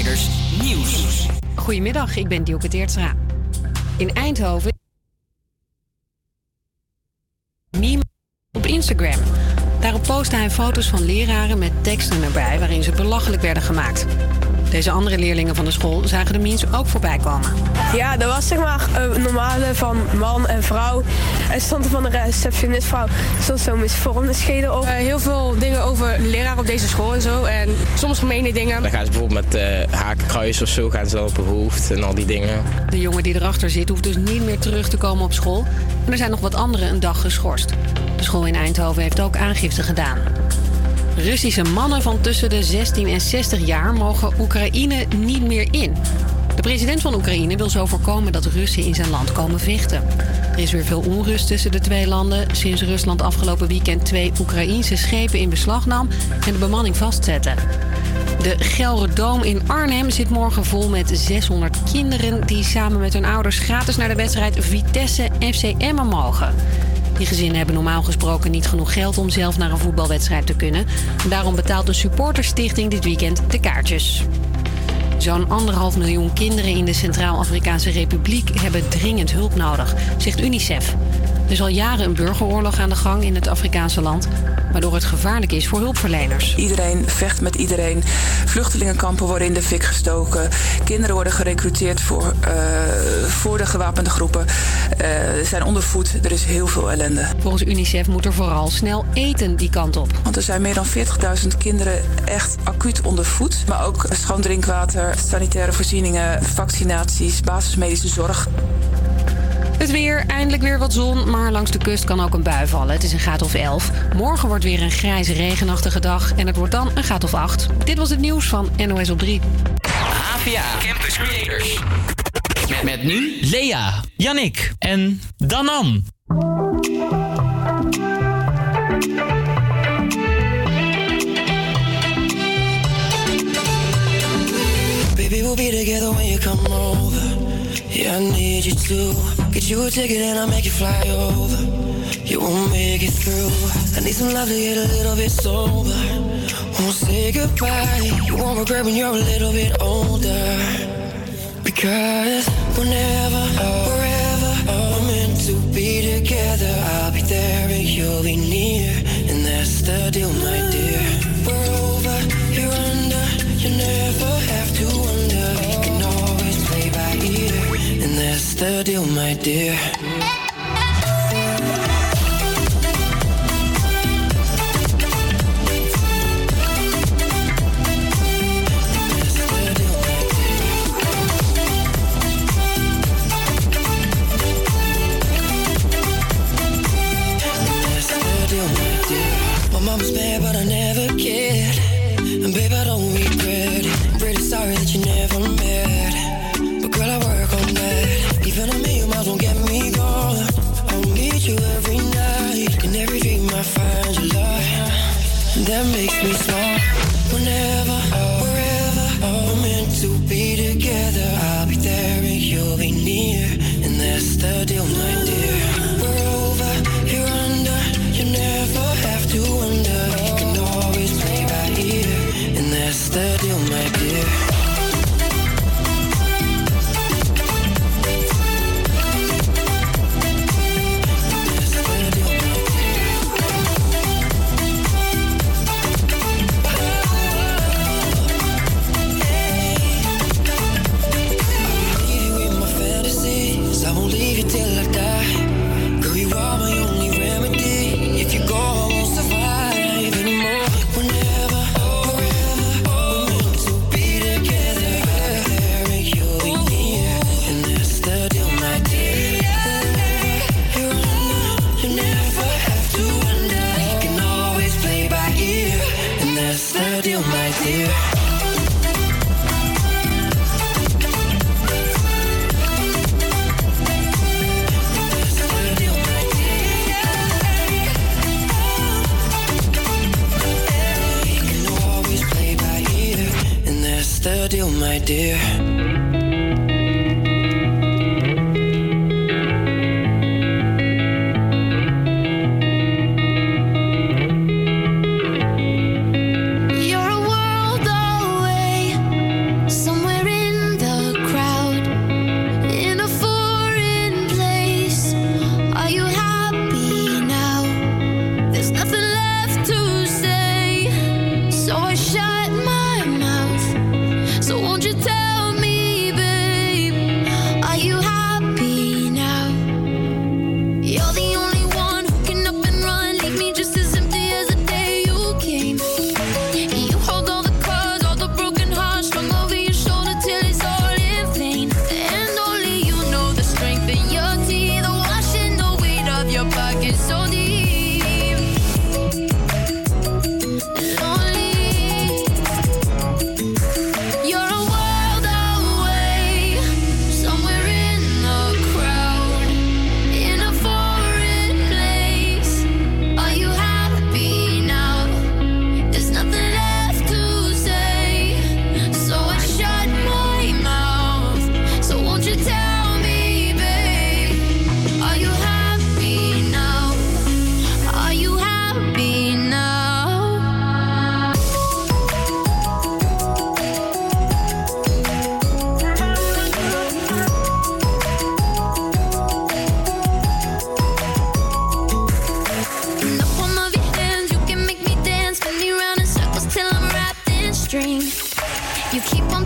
Creators Nieuws. Goedemiddag, ik ben Dielke Teertstra. In Eindhoven meme op Instagram. Daarop postte hij foto's van leraren met teksten erbij waarin ze belachelijk werden gemaakt. Deze andere leerlingen van de school zagen de memes ook voorbij komen. Ja, dat was zeg maar een normale van man en vrouw. En stond er van een receptionistvrouw stond zo'n misvormde schedel op. Heel veel dingen over leraar op deze school en zo. En soms gemene dingen. Dan gaan ze bijvoorbeeld met hakenkruis of zo gaan ze op hun hoofd en al die dingen. De jongen die erachter zit hoeft dus niet meer terug te komen op school. En er zijn nog wat anderen een dag geschorst. De school in Eindhoven heeft ook aangifte gedaan. Russische mannen van tussen de 16 en 60 jaar mogen Oekraïne niet meer in. De president van Oekraïne wil zo voorkomen dat Russen in zijn land komen vechten. Er is weer veel onrust tussen de twee landen sinds Rusland afgelopen weekend 2 Oekraïense schepen in beslag nam en de bemanning vastzette. De Gelredome in Arnhem zit morgen vol met 600 kinderen die samen met hun ouders gratis naar de wedstrijd Vitesse FC Emmen mogen. Die gezinnen hebben normaal gesproken niet genoeg geld om zelf naar een voetbalwedstrijd te kunnen. Daarom betaalt de supporterstichting dit weekend de kaartjes. Zo'n 1,5 miljoen kinderen in de Centraal-Afrikaanse Republiek hebben dringend hulp nodig, zegt UNICEF. Er is al jaren een burgeroorlog aan de gang in het Afrikaanse land, waardoor het gevaarlijk is voor hulpverleners. Iedereen vecht met iedereen. Vluchtelingenkampen worden in de fik gestoken. Kinderen worden gerekruteerd voor de gewapende groepen. Zijn ondervoed. Er is heel veel ellende. Volgens UNICEF moet er vooral snel eten die kant op. Want er zijn meer dan 40.000 kinderen echt acuut ondervoed. Maar ook schoon drinkwater, sanitaire voorzieningen, vaccinaties, basismedische zorg. Het weer, eindelijk weer wat zon, maar langs de kust kan ook een bui vallen. Het is een graad of 11. Morgen wordt weer een grijze, regenachtige dag en het wordt dan een graad of 8. Dit was het nieuws van NOS op 3. APA Campus Creators. Met nu Lea, Yannick en Danan. Baby, we'll be together when you come over. Yeah, I need you to get you a ticket and I'll make you fly over. You won't make it through. I need some love to get a little bit sober. Won't say goodbye. You won't regret when you're a little bit older. Because whenever, wherever we're meant to be together, I'll be there and you'll be near. And that's the deal, my dear. We're over, you're under. You never have to wonder. You can always play by ear. And that's the deal, my dear. My mama's bad, but I never cared. And babe, I don't regret it. I'm pretty sorry that you never met. But girl, I work on that. Even a million miles won't get me going. I'll meet you every night. In every dream I find your love. And that makes me smile. Whenever, wherever we're meant to be together, I'll be there and you'll be near. And that's the deal, my dear. We're over, you're under. You never have to wonder. You can always play by ear. And that's the deal, my dear. Till I die, girl, you are my only remedy. If you go, I won't survive anymore. Whenever, wherever, we're meant to be together. I'll be there and you'll be near. And that's the deal, my dear. Wherever you're under, you never have to wonder. You can always play by ear. And that's the deal, my dear. The deal, my dear. You're a world away, somewhere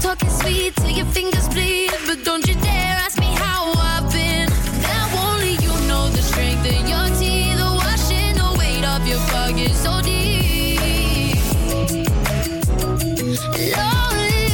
talking sweet till your fingers bleed, but don't you dare ask me how I've been. Now only you know the strength in your teeth, the washing the weight of your pocket so deep. Lonely,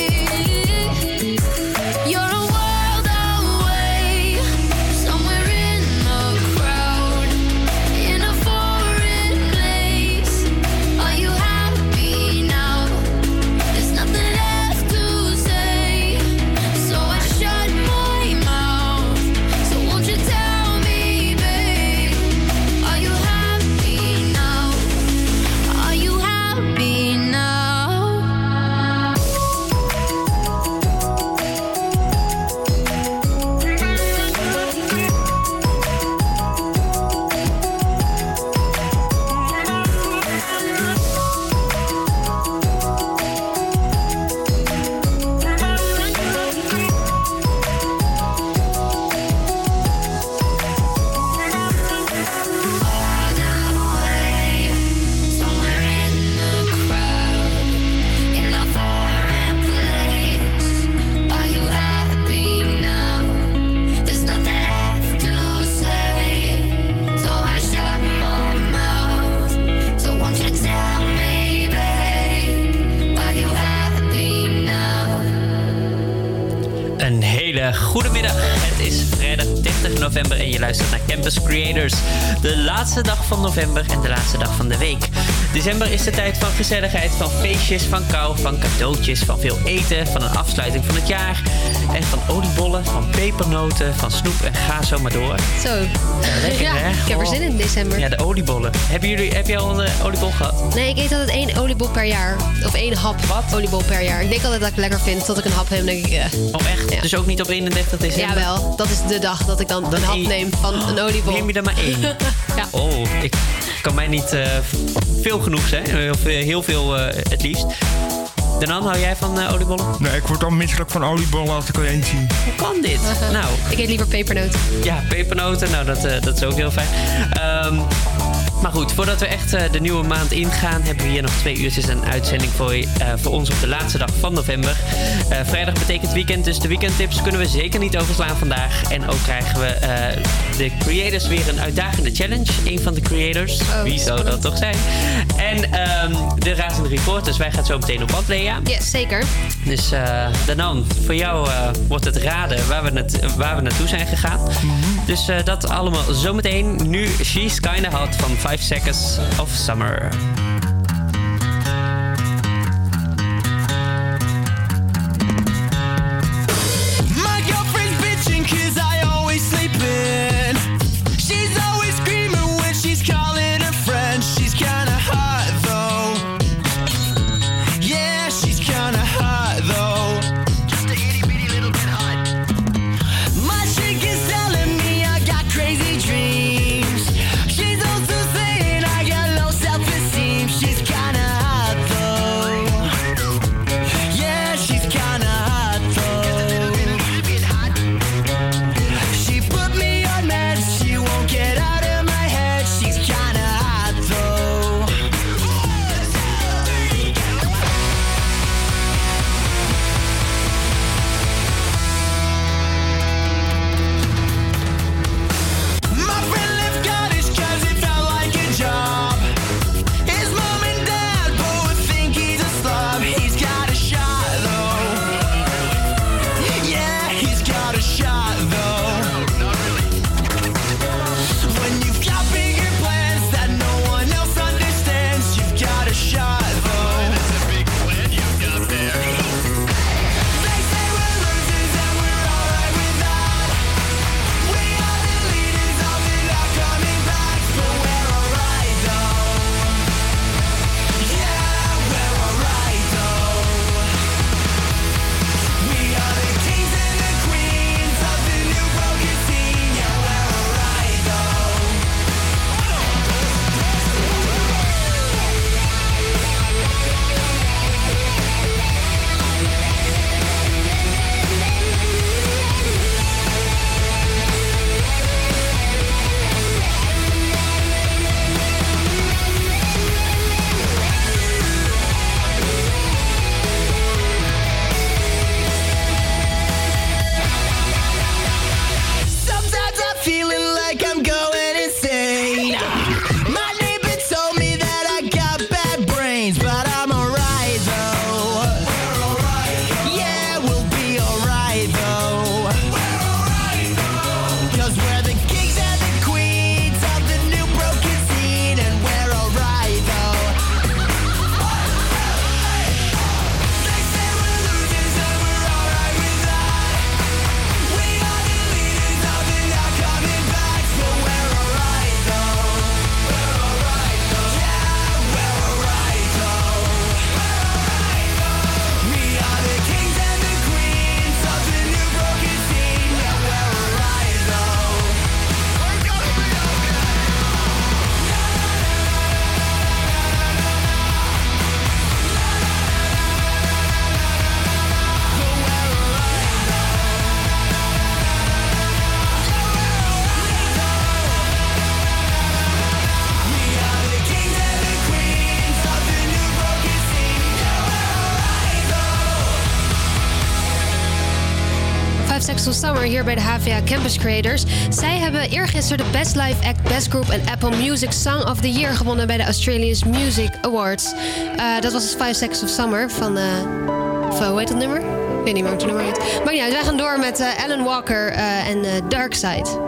you're a world away, somewhere in the crowd, in a foreign place. Are you happy now? There's nothing left to say, so I shut my mouth. So won't you tell me, babe, are you happy now? Are you happy now? Somewhere in the crowd, in a foreign place. Are you happy now? There's nothing left to say, so I shut my mouth. So won't you tell me, babe, are you happy now? Een hele goede middag. Het is vrijdag 30 november en je luistert naar Campus Creators. De laatste dag van november en de laatste dag van de week. December is de tijd van gezelligheid, van feestjes, van kou, van cadeautjes, van veel eten, van een afsluiting van het jaar. En van oliebollen, van pepernoten, van snoep en ga zo maar door. Zo. Lekker, ja, hè? ik heb er zin in december. Ja, de oliebollen. Heb je al een oliebol gehad? Nee, ik eet altijd 1 oliebol per jaar. Of 1 hap oliebol per jaar. Ik denk altijd dat ik het lekker vind tot ik een hap heb. Denk ik, Oh, echt? Ja. Dus ook niet op 31 december? Jawel, dat is de dag dat ik dan een hap neem van een oliebol. Neem je er maar 1? Ja. Oh, ik kan mij niet veel genoeg zijn. Heel veel het liefst. Danan, hou jij van oliebollen? Nee, ik word al misselijk van oliebollen als ik er één zie. Hoe kan dit? Nou, ik eet liever pepernoten. Ja, pepernoten. Nou, dat is ook heel fijn. Maar goed, voordat we echt de nieuwe maand ingaan, hebben we hier nog 2 uurtjes een uitzending voor ons op de laatste dag van november. Vrijdag betekent weekend, dus de weekendtips kunnen we zeker niet overslaan vandaag. En ook krijgen we de creators weer een uitdagende challenge. Een van de creators. Wie zou dat toch zijn? En de razende reporters. Wij gaan zo meteen op pad, Lea. Ja, zeker. Dus Danan, voor jou wordt het raden waar we naartoe zijn gegaan. Dus dat allemaal zometeen. Nu She's Kinda Hot van 5 Seconds of Summer. My girlfriend's bitching 'cause I always sleep in. She's always screaming when she's calling her friends. She's kinda hot though. Yeah, she's kinda hot though. Just a itty bitty little bit hot. My chick is telling me I got crazy dreams. She's also saying I got low self-esteem. Seconds of Summer hier bij de HVA Campus Creators. Zij hebben eergisteren de Best Live Act, Best Group en Apple Music Song of the Year gewonnen bij de Australian Music Awards. Dat was dus 5 Seconds of Summer van hoe heet dat nummer? Ik weet niet meer hoe het nummer heet. Maar ja, wij gaan door met Alan Walker en Dark Side.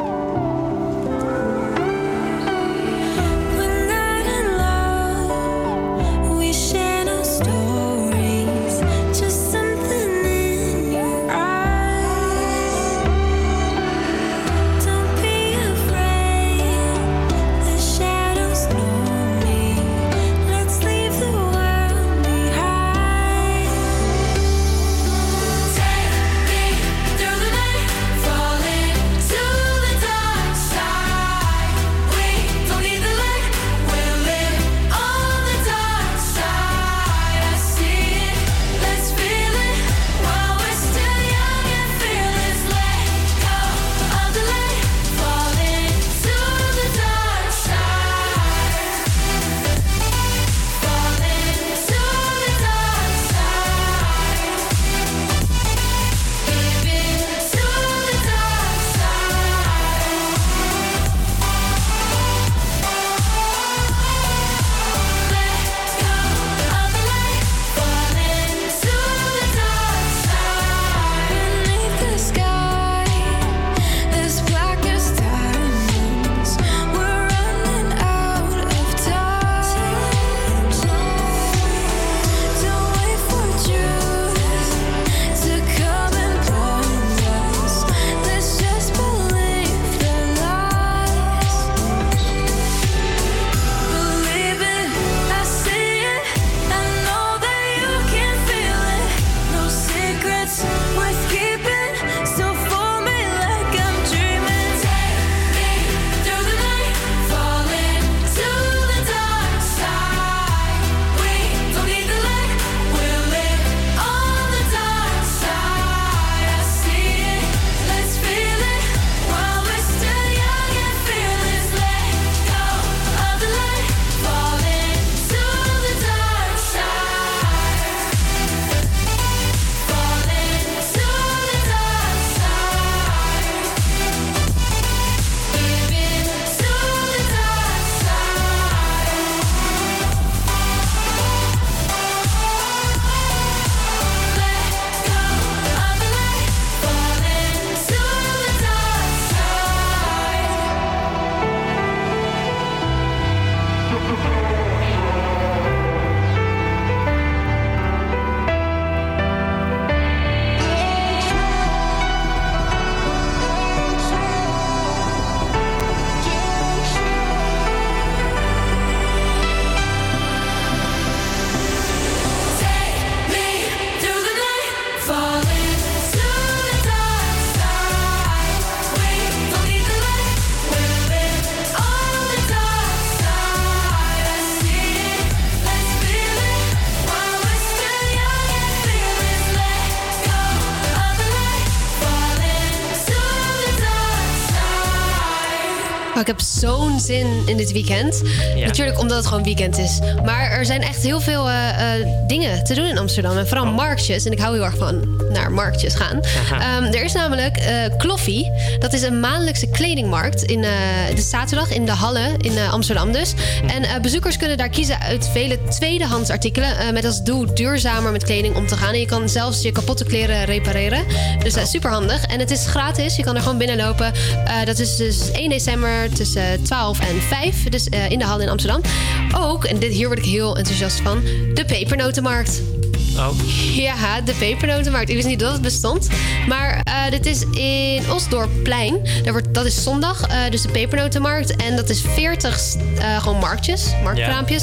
Ik heb zo'n zin in dit weekend. Ja. Natuurlijk omdat het gewoon weekend is. Maar er zijn echt heel veel dingen te doen in Amsterdam. En vooral marktjes. En ik hou heel erg van naar marktjes gaan. Er is namelijk Kloffie. Dat is een maandelijkse kledingmarkt. De zaterdag in de Hallen in Amsterdam dus. En bezoekers kunnen daar kiezen uit vele tweedehands artikelen. Met als doel duurzamer met kleding om te gaan. En je kan zelfs je kapotte kleren repareren. Dus super handig. En het is gratis. Je kan er gewoon binnenlopen. Dat is dus 1 december tussen 12 en 5. Dus in de Hallen in Amsterdam. Ook, en hier word ik heel enthousiast van, de pepernotenmarkt. Oh. Ja, de pepernotenmarkt. Ik wist niet dat het bestond. Maar dit is in Osdorpplein. Dat is zondag, dus de pepernotenmarkt. En dat is 40 gewoon marktkraampjes.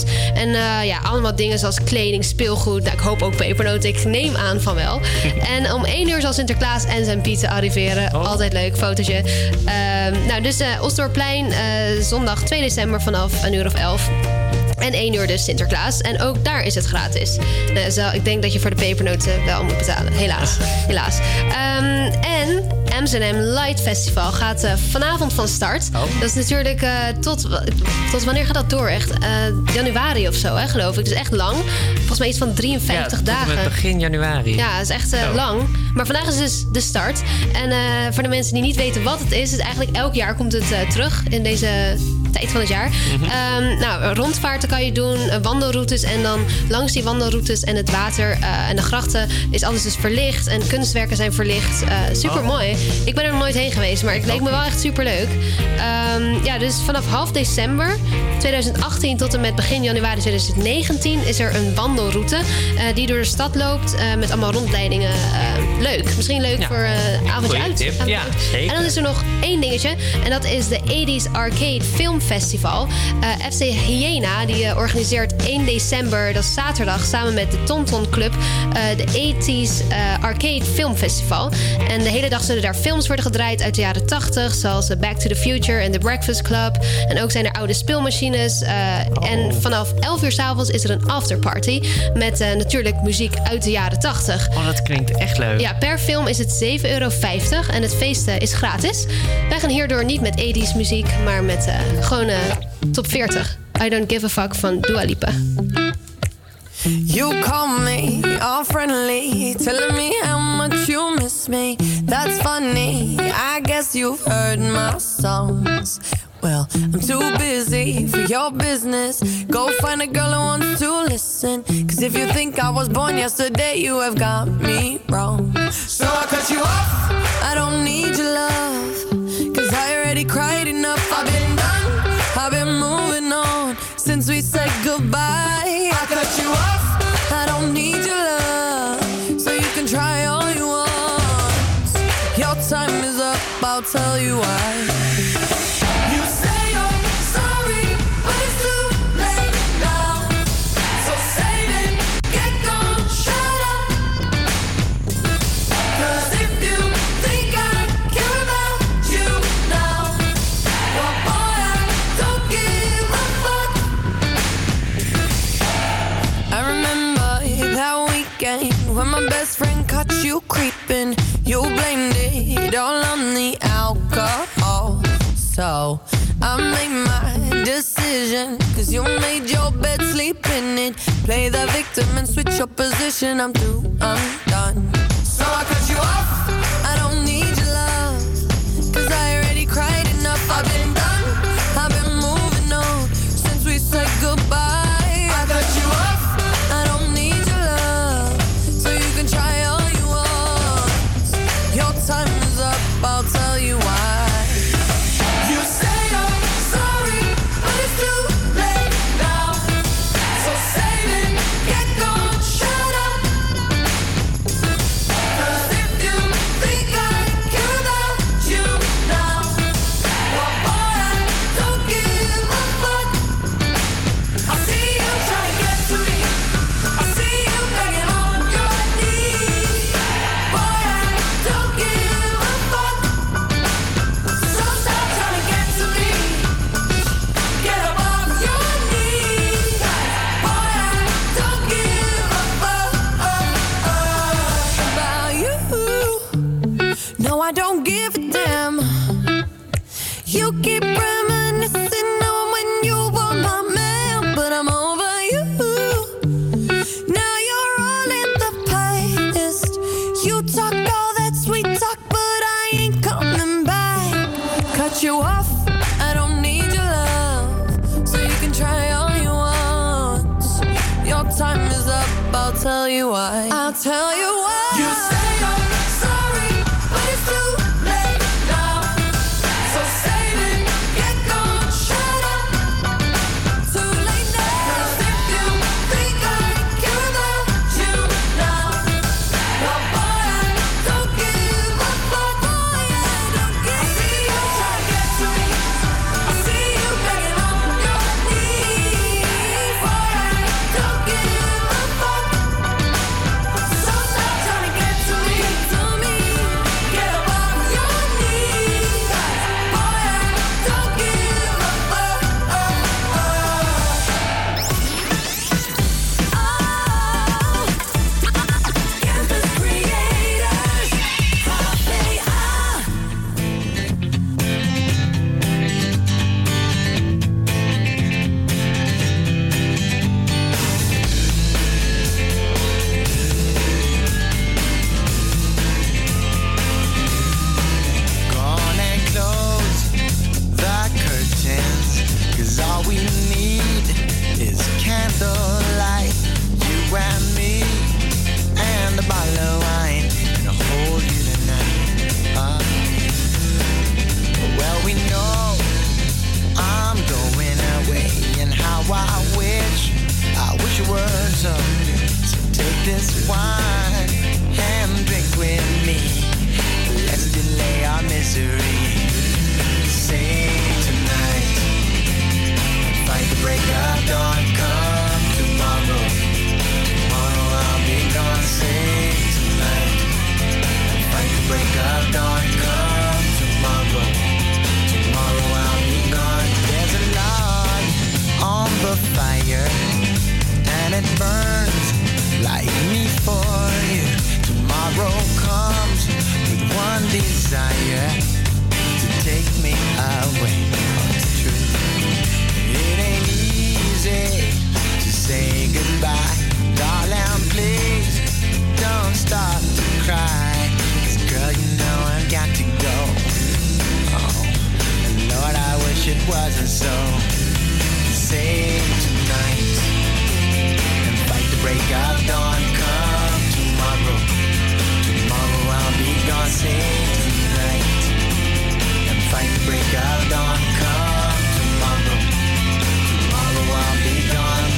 En allemaal dingen zoals kleding, speelgoed. Nou, ik hoop ook pepernoten. Ik neem aan van wel. En om 1 uur zal Sinterklaas en zijn pizza arriveren. Oh. Altijd leuk, fotootje. Dus Osdorpplein, zondag 2 december vanaf 11:00. En 1 uur dus Sinterklaas. En ook daar is het gratis. Ik denk dat je voor de pepernoten wel moet betalen. Helaas. En Amsterdam Light Festival gaat vanavond van start. Oh. Dat is natuurlijk tot wanneer gaat dat door? Echt januari of zo, hè, geloof ik. Dus echt lang. Volgens mij iets van 53 dagen. Tot begin januari. Ja, dat is echt lang. Maar vandaag is dus de start. En voor de mensen die niet weten wat het is eigenlijk elk jaar komt het terug in deze tijd van het jaar. Rondvaarten kan je doen, wandelroutes. En dan langs die wandelroutes en het water en de grachten is alles dus verlicht. En kunstwerken zijn verlicht. Super mooi. Ik ben er nog nooit heen geweest, maar het leek me wel echt super leuk. Dus vanaf half december 2018 tot en met begin januari 2019 is er een wandelroute die door de stad loopt met allemaal rondleidingen. Leuk. Misschien leuk voor een avondje uit. Tip. Ja, zeker. En dan is er nog één dingetje. En dat is de 80s Arcade Film Festival. FC Hyena die organiseert 1 december, dat is zaterdag, samen met de Tonton Club de 80s Arcade Film Festival. En de hele dag zullen daar films worden gedraaid uit de jaren 80, zoals Back to the Future en The Breakfast Club. En ook zijn er oude speelmachines. En vanaf 11 uur 's avonds is er een afterparty met natuurlijk muziek uit de jaren 80. Oh, dat klinkt echt leuk. Ja, per film is het €7,50 en het feest is gratis. Wij gaan hierdoor niet met 80s muziek, maar met gewoon top 40. I Don't Give a Fuck van Dua Lipa. You call me all friendly, telling me how much you miss me. That's funny, I guess you've heard my songs. Well, I'm too busy for your business. Go find a girl who wants to listen. 'Cause if you think I was born yesterday, you have got me wrong. So I cut you off, I don't need your love. 'Cause I already cried enough, I've been done, I've been moving on since we said goodbye. I cut you off, I don't need your love. So you can try all you want. Your time is up, I'll tell you why. When my best friend caught you creeping, you blamed it all on the alcohol. So I made my decision, 'cause you made your bed, sleep in it. Play the victim and switch your position. I'm through, I'm done. So I cut you off, I don't need your love. 'Cause I already cried enough, I've been done, I've been moving on since we said goodbye. I cut you off, I don't need your love. So you can try all you want. Your time is up, I'll tell you why. You say you're sorry, but it's too late now. So save it, get gone, shut up. 'Cause if you think I care about you now, well boy, I don't give a fuck. I see you trying to get to me, I see you begging on your knees. Boy, I don't give a fuck. So stop trying to get to me, get up off your knees. Boy, I don't give a fuck about you. No, I don't give a damn. You keep reminiscing on when you were my man, but I'm over you. Now you're all in the past. You talk all that sweet talk, but I ain't coming back. Cut you off, I don't need your love. So you can try all you want. Your time is up, I'll tell you why. I'll tell you why. You say you're sorry, but it's too late now. So save it, get gone, shut up. Too late now. 'Cause if you think I care about you now, well boy, I don't give a fuck. Boy, I don't give. I see you trying to get to me, I see you begging on your knees. Boy, I don't give a fuck. So stop trying to get to this wine and drink with me. Let's delay our misery. Sing tonight, fight the break of dawn. Come tomorrow, tomorrow I'll be gone. Sing tonight, fight the break of dawn. Come tomorrow, tomorrow I'll be gone. There's a log on the fire and it burns like me for you. Tomorrow comes with one desire, to take me away. It's true. It ain't easy to say goodbye. Darling, please don't start to cry. 'Cause girl, you know I've got to go. Oh, and Lord, I wish it wasn't so. Save tonight and fight the break of dawn. Come tomorrow, tomorrow I'll be gone. Save tonight and fight the break of dawn. Come tomorrow, tomorrow I'll be gone.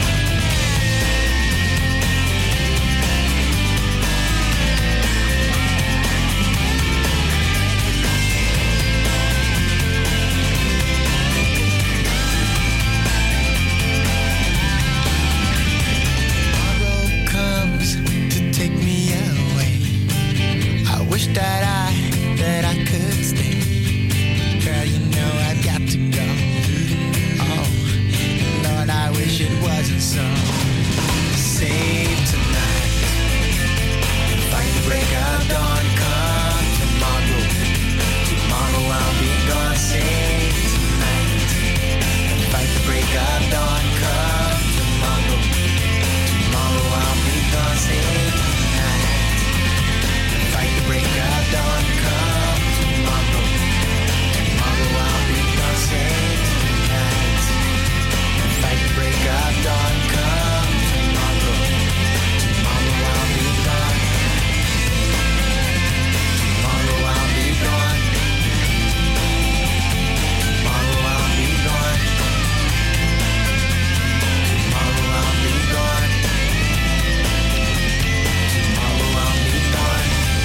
That I could stay. Girl, you know I've got to go. Oh, Lord, I wish it wasn't so. Save tonight, fight the break of dawn. Come tomorrow, tomorrow I'll be gone. Save tonight, fight the break of dawn. Come tomorrow, tomorrow I'll be gone. Save fight the break of dawn. Come tomorrow, tomorrow I'll be gone. Save tonight and fight the break of dawn. Come tomorrow, tomorrow I'll be gone. Tomorrow I'll be gone. Tomorrow I'll be gone. Tomorrow I'll be gone. Tomorrow I'll be gone.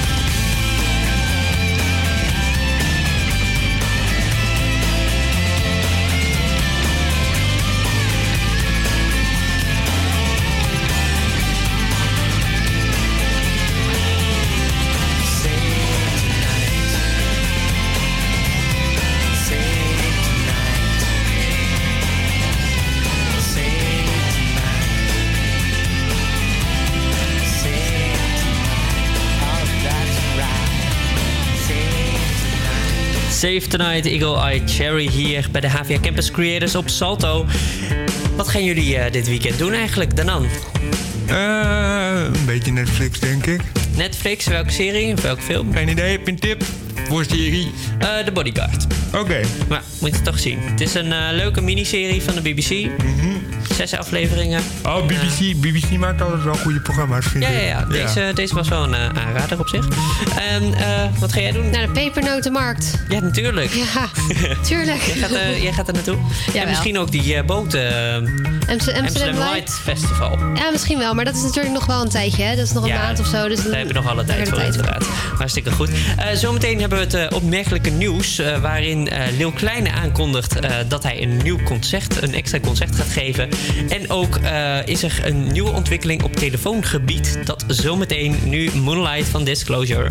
Save Tonight, Eagle Eye Cherry hier bij de HVA Campus Creators op Salto. Wat gaan jullie dit weekend doen eigenlijk, Danan? Een beetje Netflix, denk ik. Netflix, welke serie of welke film? Geen idee, heb je een tip voor serie? The Bodyguard. Oké. Maar moet je het toch zien. Het is een leuke miniserie van de BBC. 6 afleveringen. Oh, BBC maakt altijd wel goede programma's, vind ik. Ja. Deze was wel een aanrader op zich. En wat ga jij doen? Naar de pepernotenmarkt. Ja, natuurlijk. Ja, tuurlijk. Jij gaat er naartoe? Ja, en misschien ook die boten... Amsterdam Light Festival. Ja, misschien wel. Maar dat is natuurlijk nog wel een tijdje. Hè? Dat is nog een maand of zo. Dus daar hebben we nog alle tijd voor, inderdaad. Hartstikke goed. Zometeen hebben we het opmerkelijke nieuws... waarin Lil Kleine aankondigt dat hij een extra concert gaat geven. En ook is er een nieuwe ontwikkeling op telefoongebied. Dat zometeen. Nu Moonlight van Disclosure.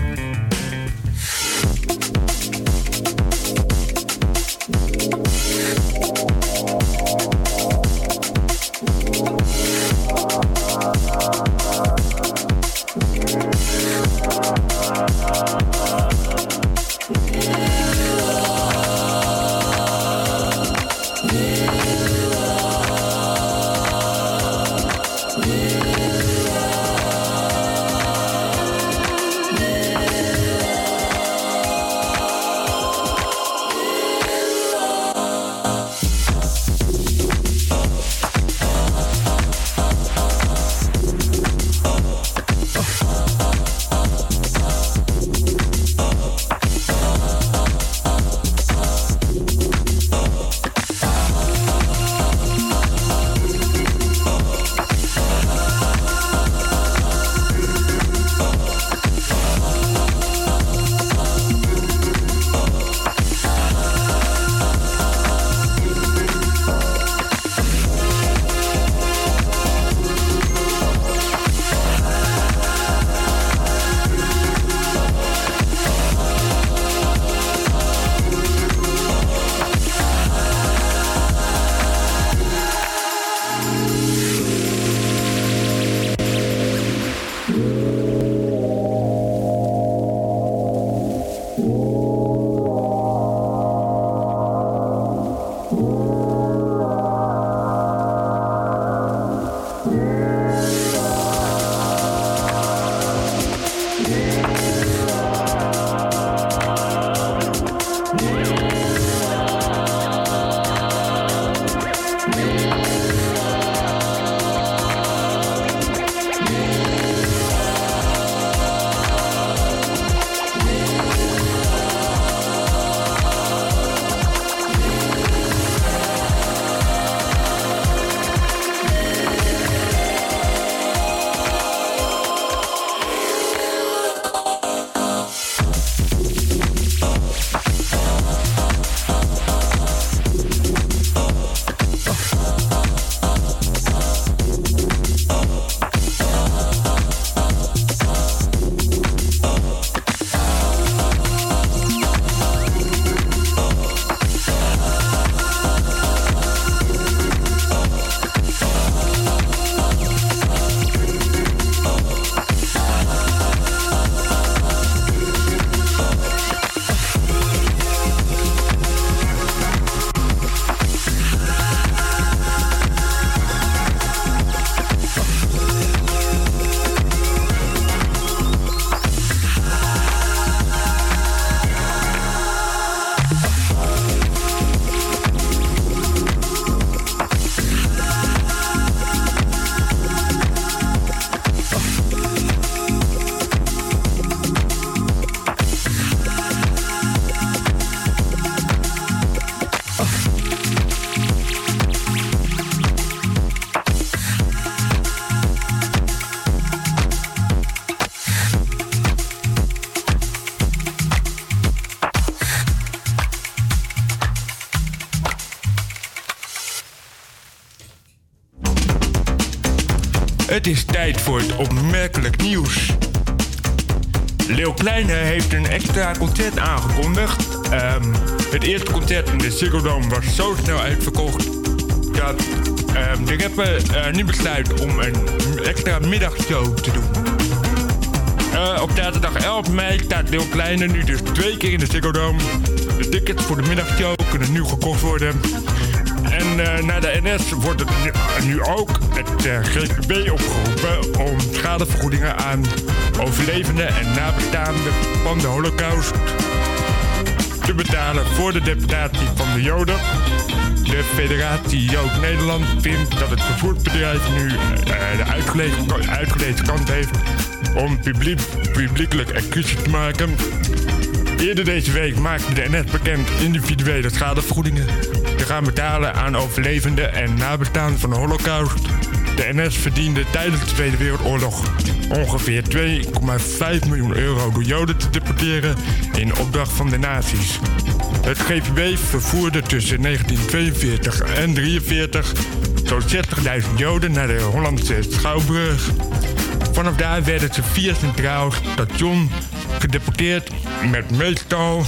Het is tijd voor het opmerkelijk nieuws. Leeuw Kleine heeft een extra concert aangekondigd. Het eerste concert in de Ziggo Dome was zo snel uitverkocht dat de rapper nu besluit om een extra middagshow te doen. Op zaterdag 11 mei staat Leeuw Kleine nu dus 2 keer in de Ziggo Dome. De tickets voor de middagshow kunnen nu gekocht worden. En naar de NS wordt het nu ook het GVB opgeroepen om schadevergoedingen aan overlevenden en nabestaanden van de Holocaust te betalen voor de deportatie van de Joden. De Federatie Jood Nederland vindt dat het vervoersbedrijf nu de uitgelezen kans heeft om publiekelijk excuses te maken. Eerder deze week maakte de NS bekend individuele schadevergoedingen te gaan betalen aan overlevenden en nabestaanden van de Holocaust. De NS verdiende tijdens de Tweede Wereldoorlog ongeveer 2,5 miljoen euro door Joden te deporteren in opdracht van de nazi's. Het GVB vervoerde tussen 1942 en 1943 zo'n 60.000 Joden naar de Hollandse Schouwburg. Vanaf daar werden ze via Centraal Station gedeporteerd met meestal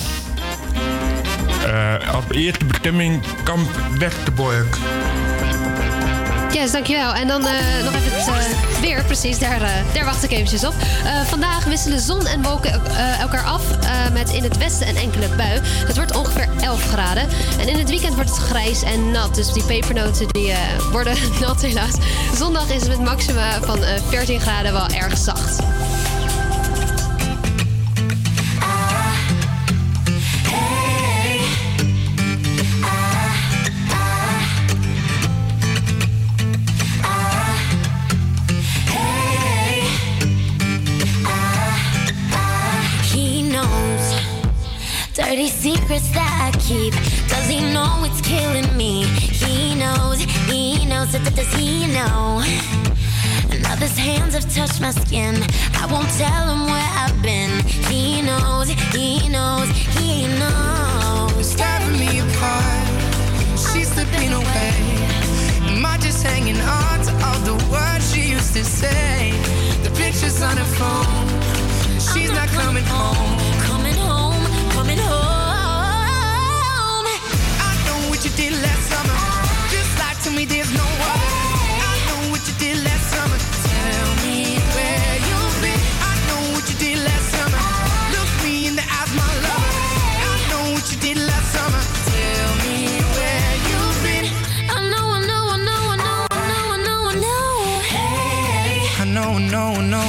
als eerste bestemming kamp Westerbork. Yes, dankjewel. En dan nog even het weer, precies, daar wacht ik eventjes op. Vandaag wisselen zon en wolken elkaar af met in het westen een enkele bui. Het wordt ongeveer 11 graden. En in het weekend wordt het grijs en nat, dus die pepernoten die worden nat helaas. Zondag is het met maxima van 14 graden wel erg zacht. Dirty secrets that I keep. Does he know it's killing me? He knows, does he know? Now his hands have touched my skin. I won't tell him where I've been. He knows, he knows. Tearing me apart, she's slipping away. Am I just hanging on to all the words she used to say? The pictures on her phone, she's not coming home. Coming home. I know what you did last summer. Just lie to me, there's no other. I know what you did last summer. Tell me where you've been. I know what you did last summer. Look me in the eyes, my love. I know what you did last summer. Tell me where you've been. I know. Hey. I know.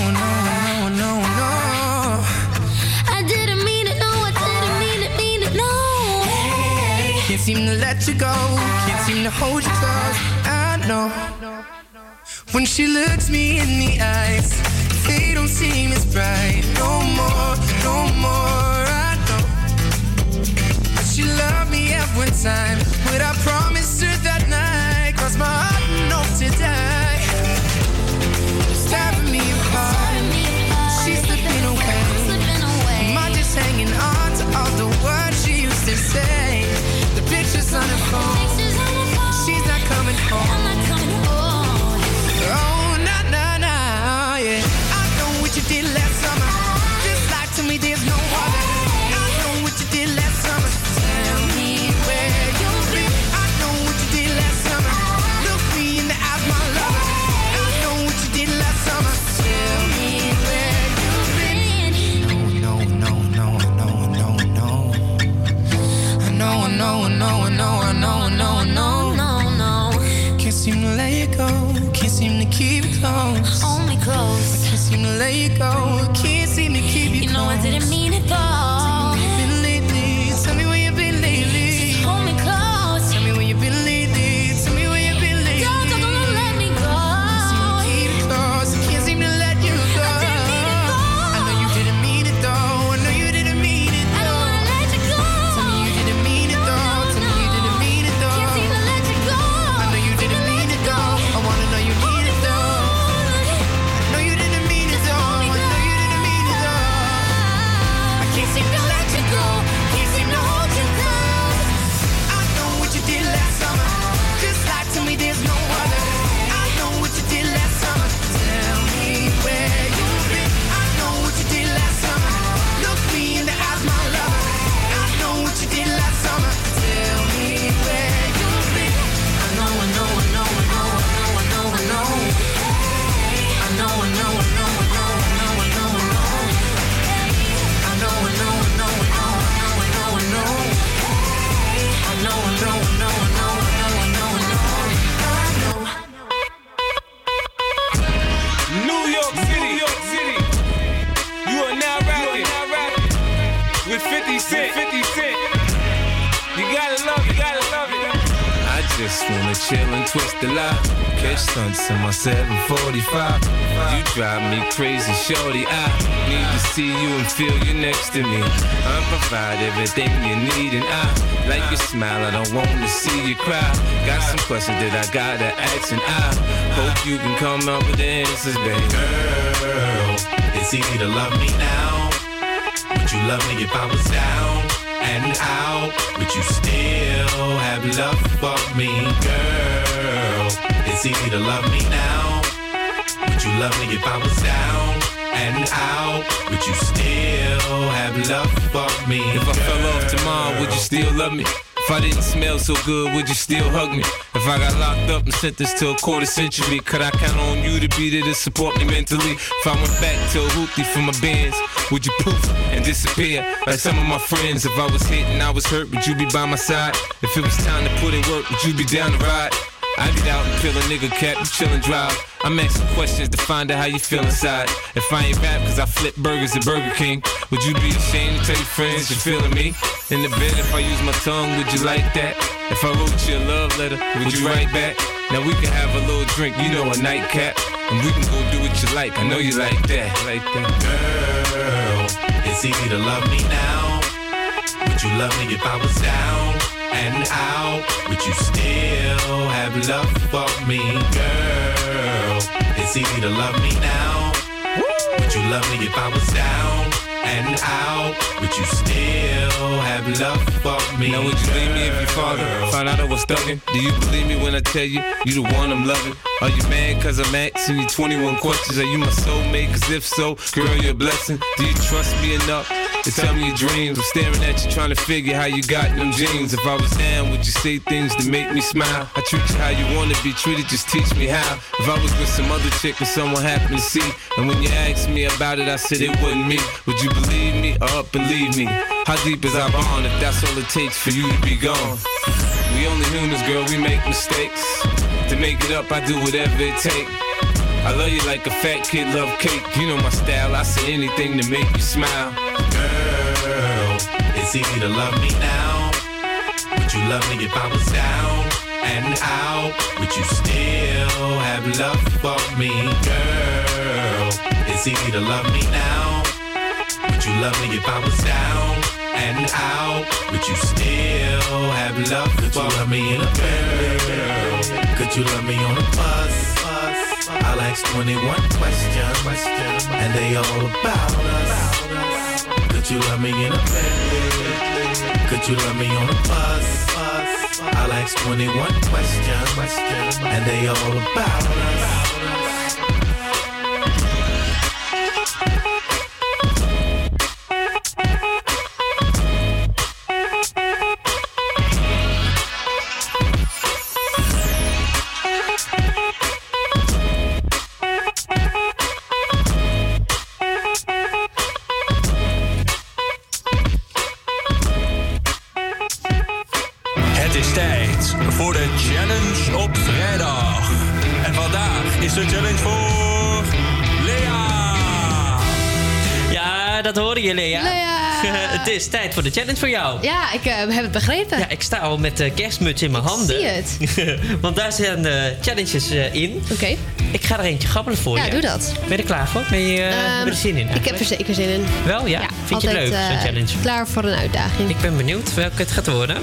Can't seem to let you go, can't seem to hold you close. I know when she looks me in the eyes, they don't seem as bright. No more. I know, but she loved me at one time. What I promised her that night, crossed my heart and hope to die. Tearing me apart, she's slipping away. Am I just hanging on to all the words she used to say? Pictures on her phone, she's not coming home. Oh, nah, yeah. I know what you did last summer. Just lie to me, there's no other. I know what you did last summer. Tell me where you've been. I know what you did last summer. Look me in the eyes, my love. I know what you did last summer. Tell me where you've been. No. Can't seem to let you go. Can't seem to keep you close. Hold me close. I can't seem to let you go. Can't seem to keep you close. You know I didn't mean it though. Tell me where you've been lately. Just hold me close. Tell me where you've been lately. Tell me where you've been lately. Don't let me go. Can't seem to keep you close. I can't seem to let you go. I know you didn't mean it though. I know you didn't mean it though. I don't wanna let you go. Tell me you didn't mean it though. Tell me you didn't mean it though. Can't seem to let you go. I know you didn't mean it though. I wanna know you mean it though. I know you didn't mean it though. I know you didn't mean it though. I can't seem to York City. You are now rapping with 50 Cent. You gotta love it. I just wanna chill and twist the lie. Catch stunts in my 745. You drive me crazy, shorty. I need to see you and feel you next to me. I provide everything you need, and I like your smile. I don't want to see you cry. Got some questions that I gotta ask, and I hope you can come up with the answers, baby. Girl, it's easy to love me now. Would you love me if I was down and out? Would you still have love for me, girl? It's easy to love me now. Would you love me if I was down and out? Would you still have love for me, If I fell off tomorrow, would you still love me? If I didn't smell so good, would you still hug me? If I got locked up and sentenced to a quarter century, could I count on you to be there to support me mentally? If I went back to a hoopty for my bands, would you poof and disappear like some of my friends? If I was hit and I was hurt, would you be by my side? If it was time to put in work, would you be down to ride? I get out and peel a nigga cap, you chill and drive. I'm asking questions to find out how you feel inside. If I ain't rap cause I flip burgers at Burger King, would you be ashamed to tell your friends you're feeling me? In the bed, if I use my tongue, would you like that? If I wrote you a love letter, would you write back? Now we can have a little drink, you know, a nightcap, and we can go do what you like. I know you like that. Girl, it's easy to love me now. Would you love me if I was down and out? Would you still have love for me, girl? It's easy to love me now. Would you love me if I was down and out? Would you still have love for me? Now would you leave me if your father found out I was thugging? Do you believe me when I tell you you the one I'm loving? Are you mad cause I'm asking you 21 questions? Are you my soulmate? Cause if so, girl, you're a blessing. Do you trust me enough to tell me your dreams? I'm staring at you trying to figure how you got them jeans. If I was down, would you say things to make me smile? I treat you how you want to be treated, just teach me how. If I was with some other chick and someone happened to see, and when you asked me about it, I said it wasn't me, would you believe me or up and leave me? How deep is our bond if that's all it takes for you to be gone? We only humans, girl, we make mistakes. To make it up, I do whatever it takes. I love you like a fat kid love cake. You know my style, I say anything to make you smile. Girl, it's easy to love me now. Would you love me if I was down and out? Would you still have love for me, girl? It's easy to love me now. Would you love me if I was down and out? Would you still have love for me in a girl? Could you love me on a bus? I'll ask 21 questions, and they all about us. Could you love me in a bed? Could you love me on a bus? I'll ask 21 questions, and they all about us. Voor de challenge op vrijdag. En vandaag is de challenge voor Lea. Ja, dat hoorde je, Lea. Het is tijd voor de challenge voor jou. Ja, ik heb het begrepen. Ja, ik sta al met de kerstmuts in mijn handen. Zie het. Want daar zijn challenges in. Oké. Ik ga er eentje grabbelen voor je. Ja, doe dat. Ben je er klaar voor? Ben je er zin in? Ik heb er zeker zin in. Wel, ja? Vind je het leuk, zo'n challenge? Klaar voor een uitdaging. Ik ben benieuwd welke het gaat worden.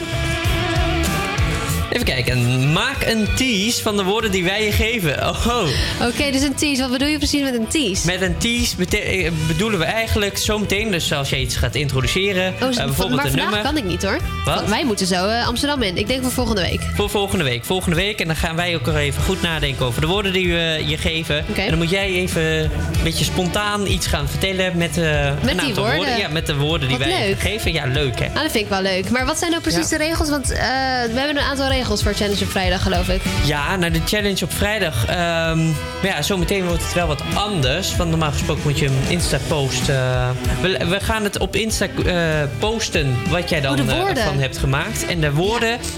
Even kijken. Maak een tease van de woorden die wij je geven. Oh. Oké, dus een tease. Wat bedoel je precies met een tease? Met een tease bedoelen we eigenlijk zometeen, dus als je iets gaat introduceren, bijvoorbeeld maar een nummer. kan ik niet hoor. Wat? Wij moeten zo Amsterdam in. Ik denk voor volgende week. Voor volgende week. En dan gaan wij ook even goed nadenken over de woorden die we je geven. Okay. En dan moet jij even een beetje spontaan iets gaan vertellen met een aantal woorden. Ja, met de woorden die wij geven. Ja, leuk hè. Nou, dat vind ik wel leuk. Maar wat zijn nou precies de regels? Want we hebben een aantal regels voor Challenge op vrijdag, geloof ik. Ja, nou de Challenge op vrijdag. Ja, zometeen wordt het wel wat anders. Want normaal gesproken moet je een Insta-post... we gaan het op Insta posten wat jij dan van hebt gemaakt. En de woorden...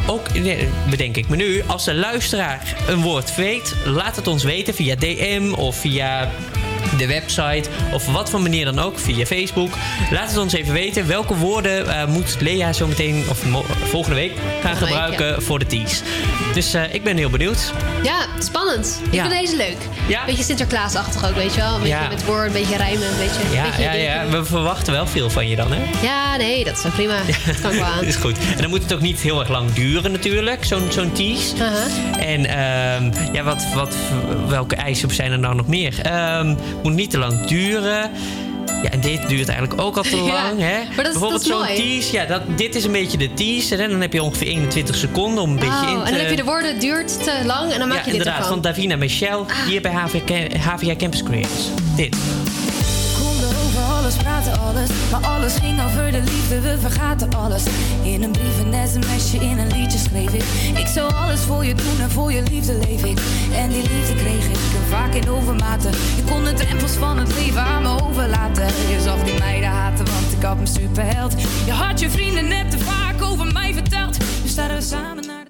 ook, bedenk ik me nu, als de luisteraar een woord weet, laat het ons weten via DM of via de website of wat voor manier dan ook, via Facebook. Laat het ons even weten. Welke woorden moet Lea zo meteen of volgende week gaan gebruiken voor de tease. Dus ik ben heel benieuwd. Ja, spannend. Ik vind deze leuk. Ja. Beetje Sinterklaasachtig ook, weet je wel. Een beetje met woorden, een beetje rijmen, een beetje... Ja. We verwachten wel veel van je dan, hè? Ja, nee, dat is wel prima. Dat kan ik wel aan. Is goed. En dan moet het ook niet heel erg lang duren natuurlijk, zo'n tease. En welke eisen zijn er nou nog meer? Moet niet te lang duren. Ja, en dit duurt eigenlijk ook al te lang. Hè? Maar bijvoorbeeld zo'n tease. Dit is een beetje de tease. En dan heb je ongeveer 21 seconden om een beetje in te... En dan heb je de woorden duurt te lang en dan maak je dit inderdaad, ervan. van Davina Michel, hier bij HVA Campus Creators. Dit. Konden over alles, praten alles, maar alles ging over de liefde, we vergaten alles. In een brief, een sms'je, in een liedje schreef ik. Ik zou alles voor je doen en voor je liefde leef ik. En die liefde kreeg ik vaak in overmaten. Je kon de drempels van het leven aan me overlaten. Je zag die meiden haten, want ik had me superheld. Je had je vrienden net te vaak over mij verteld. Nu staan we samen naar de...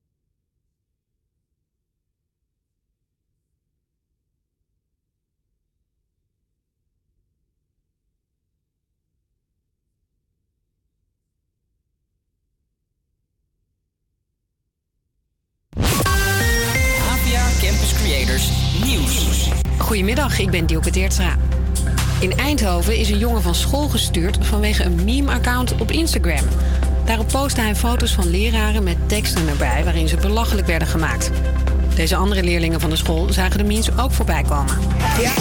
Campus Creators Nieuws. Goedemiddag, ik ben Dielke Teertstra. In Eindhoven is een jongen van school gestuurd vanwege een meme-account op Instagram. Daarop postte hij foto's van leraren met teksten erbij waarin ze belachelijk werden gemaakt. Deze andere leerlingen van de school zagen de memes ook voorbij komen. Ja.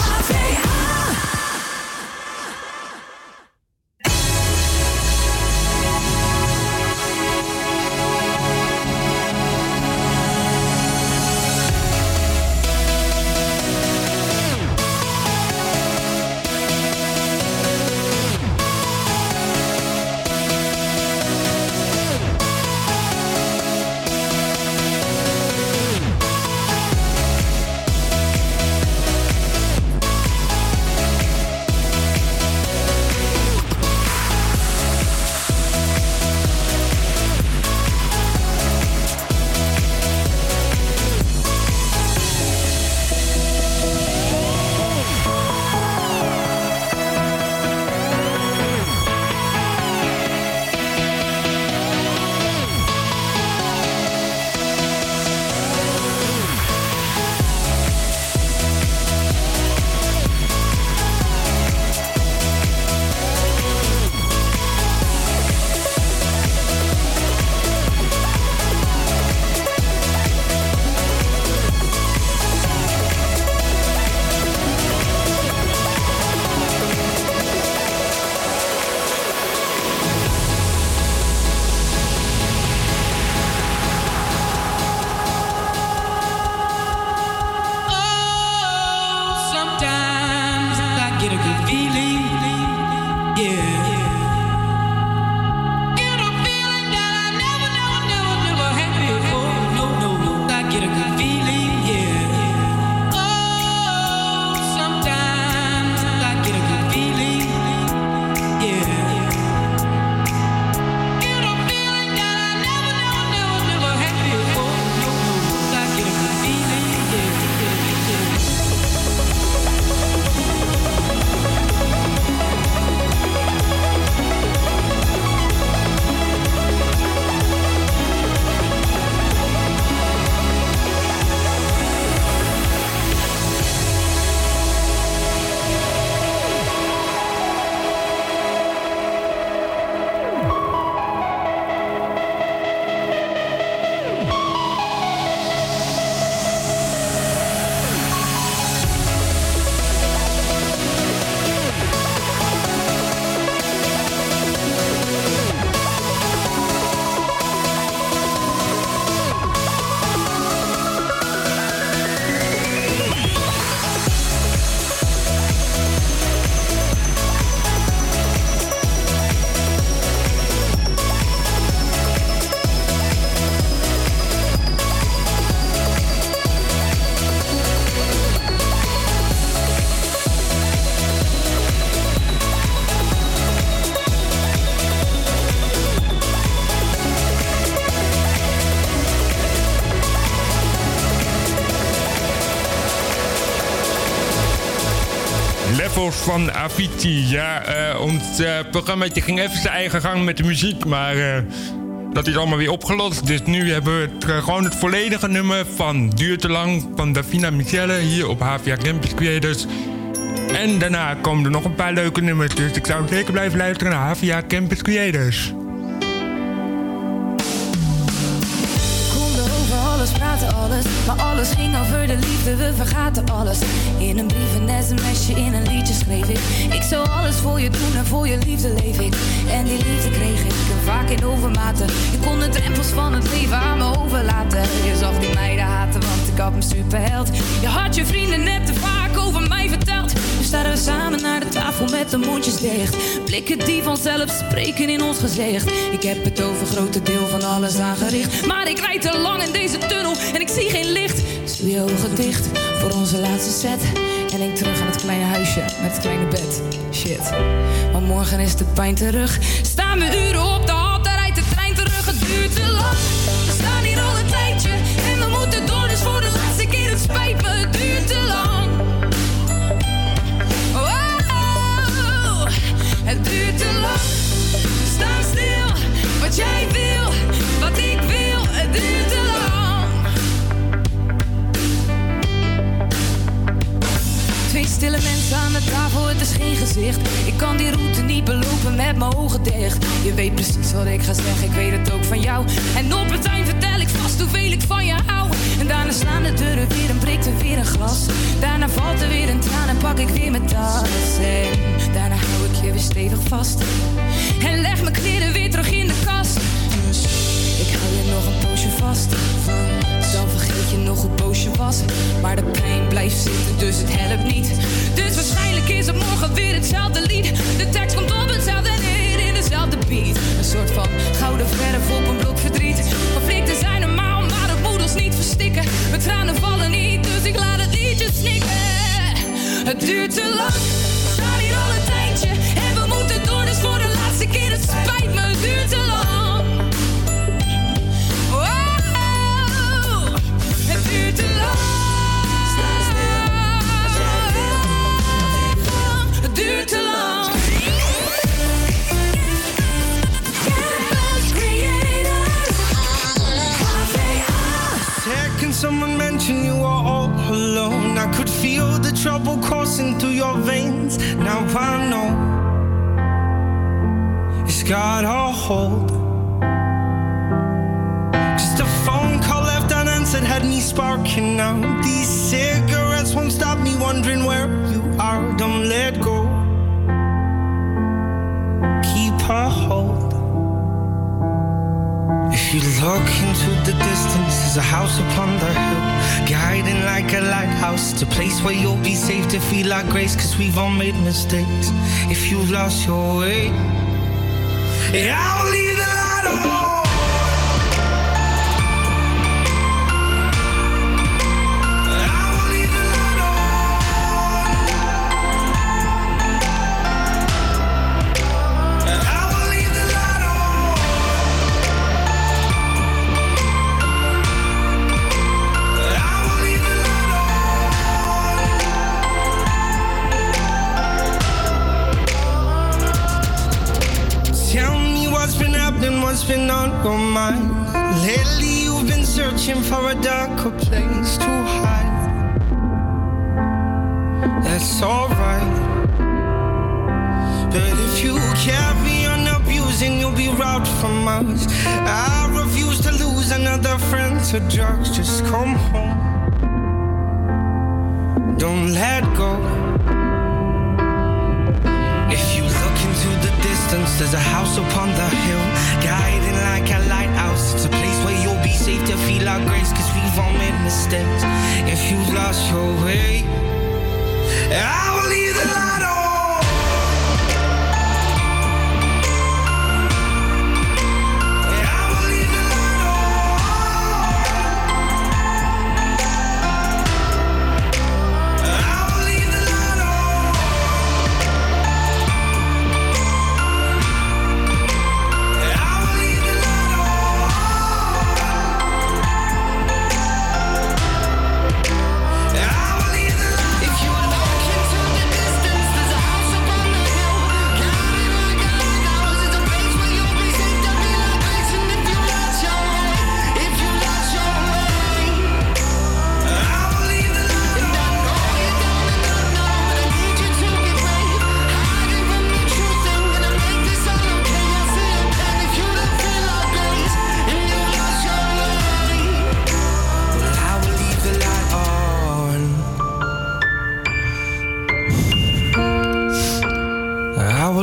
Levels van Avicii. Ja, ons programmaatje ging even zijn eigen gang met de muziek, maar dat is allemaal weer opgelost. Dus nu hebben we gewoon het volledige nummer van Duur te lang van Davina Michelle hier op HVA Campus Creators. En daarna komen er nog een paar leuke nummers, dus ik zou zeker blijven luisteren naar HVA Campus Creators. Alles, praten alles, maar alles ging over de liefde, we vergaten alles. In een brief, een sms'je, in een liedje schreef ik. Ik zou alles voor je doen en voor je liefde leef ik. En die liefde kreeg ik vaak in overmaten. Je kon de drempels van het leven aan me overlaten. Je zag die meiden haten, want ik had me superheld. Je had je vrienden net te vaak over mij verteld. Nu staan we samen naar de tafel met de mondjes dicht. Blikken die vanzelf spreken in ons gezicht. Ik heb het over grote deel van alles aangericht. Maar ik rijd te lang in deze tunnel en ik zie geen licht. Dus doe je ogen dicht voor onze laatste set. En denk terug aan het kleine huisje met het kleine bed. Shit, maar morgen is de pijn terug. Staan we uren op de hal, daar rijdt de trein terug. Het duurt te lang, we staan hier al een tijdje. En we moeten door, dus voor de laatste keer, het spijt me. Het duurt te lang. Oh, het duurt te lang. Sta stil, wat jij wil, wat ik wil. Het duurt te lang. Twee stille mensen aan de tafel, het is geen gezicht. Ik kan die route niet belopen met mijn ogen dicht. Je weet precies wat ik ga zeggen, ik weet het ook van jou. En op het eind vertel ik vast hoeveel ik van je hou. En daarna slaan de deuren weer en breekt er weer een glas. Daarna valt er weer een traan en pak ik weer mijn tas. En daarna hou ik je weer stevig vast. En leg mijn kleren weer terug in de kast. Ik hou je nog een poosje vast. Dan vergeet je nog hoe boos je was. Maar de pijn blijft zitten, dus het helpt niet. Dus waarschijnlijk is het morgen weer hetzelfde lied. De tekst komt op hetzelfde neer in dezelfde beat. Een soort van gouden verf op een blok verdriet. Conflicten zijn normaal, maar dat moet ons niet verstikken. Mijn tranen vallen niet, dus ik laat het liedje snikken. Het duurt te lang, we staan hier al een tijdje. En we moeten door, dus voor de laatste keer, het spijt me. Het duurt te lang. Het duurt te lang. Het duurt te lang. Second someone mention you are all alone. I could feel the trouble coursing through your veins. Now I know it's got a hold. Just a phone call left unanswered had me sparking now. These cigarettes won't stop me wondering where you are. Don't let go. Keep a hold. If you look into the distance, there's a house upon the hill, guiding like a lighthouse. It's a place where you'll be safe to feel like grace, cause we've all made mistakes. If you've lost your way, I'll leave the light on. What's been on your mind? Lately you've been searching for a darker place to hide. That's alright. But if you carry on abusing, you'll be robbed from us. I refuse to lose another friend to drugs. Just come home. Don't let go. If you look into the distance, there's a house upon the hill, guiding like a lighthouse. It's a place where you'll be safe to feel our grace, cause we've all made mistakes. If you've lost your way, I will leave the light on. If you look into the distance,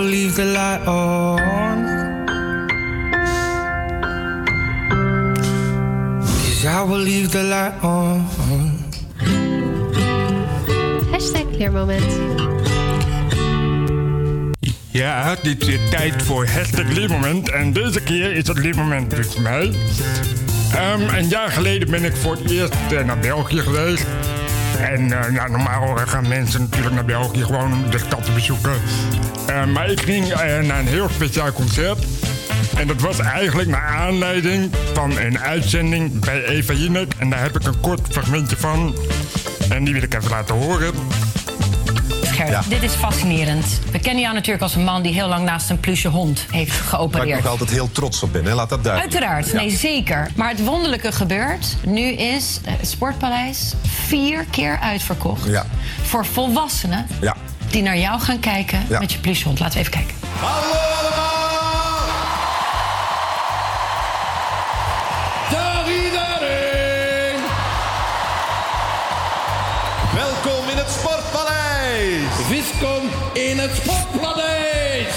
will leave the light on. 'Cause I will leave the light on. #leermoment. Ja, dit is tijd voor #leermoment. En deze keer is het leermoment dus voor mij. Een jaar geleden ben ik voor het eerst naar België geweest. En normaal gaan mensen natuurlijk naar België gewoon om de stad te bezoeken. Maar ik ging naar een heel speciaal concert. En dat was eigenlijk naar aanleiding van een uitzending bij Eva Jinek. En daar heb ik een kort fragmentje van. En die wil ik even laten horen. Gert, dit is fascinerend. We kennen jou natuurlijk als een man die heel lang naast een pluche hond heeft geopereerd. Waar ik nog altijd heel trots op ben, hè? Laat dat duidelijk. Uiteraard, nee zeker. Maar het wonderlijke gebeurt. Nu is het Sportpaleis 4 keer uitverkocht. Ja. Voor volwassenen die naar jou gaan kijken met je pluche hond. Laten we even kijken. Hallo allemaal! Dag iedereen! Welkom in het Sportpaleis! Viscom in het Sportpaleis!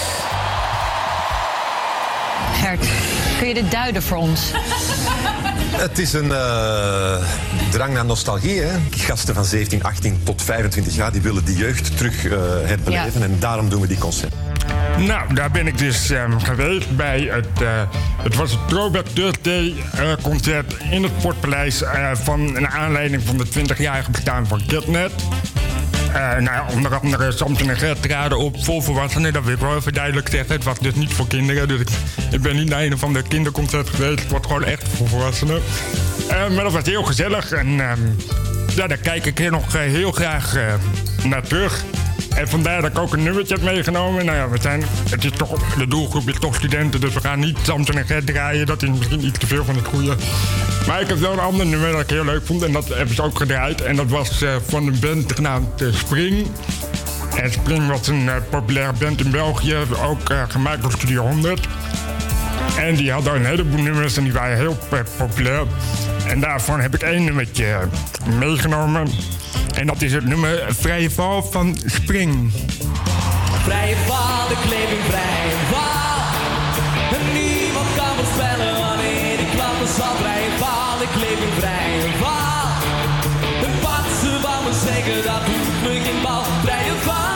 Gert, kun je dit duiden voor ons? Het is een drang naar nostalgie. Hè? Gasten van 17, 18 tot 25 jaar die willen die jeugd terug herbeleven. En daarom doen we die concert. Nou, daar ben ik dus geweest bij het was het Throwback Thursday concert in het Sportpaleis van een aanleiding van de 20-jarige bestaan van Kidnet. Onder andere Samson en Gert traden op voor volwassenen. Dat wil ik wel even duidelijk zeggen. Het was dus niet voor kinderen. Dus ik ben niet naar een van de kinderconcerten geweest. Het was gewoon echt voor volwassenen. Maar dat was heel gezellig. En daar kijk ik hier nog heel graag naar terug. En vandaar dat ik ook een nummertje heb meegenomen. Nou ja, de doelgroep is toch studenten, dus we gaan niet Samson en Gert draaien. Dat is misschien iets te veel van het goede. Maar ik heb wel een ander nummer dat ik heel leuk vond en dat hebben ze ook gedraaid. En dat was van een band genaamd Spring. En Spring was een populaire band in België, ook gemaakt door Studio 100. En die hadden een heleboel nummers en die waren heel populair. En daarvan heb ik 1 nummertje meegenomen. En dat is het nummer Vrije Val van Spring. Vrije val, ik leef in vrije val. En niemand kan voorspellen wanneer ik klappen zal. Vrije val, ik leef in vrije val. En wat ze van me zeggen, dat doet me geen bal. Vrije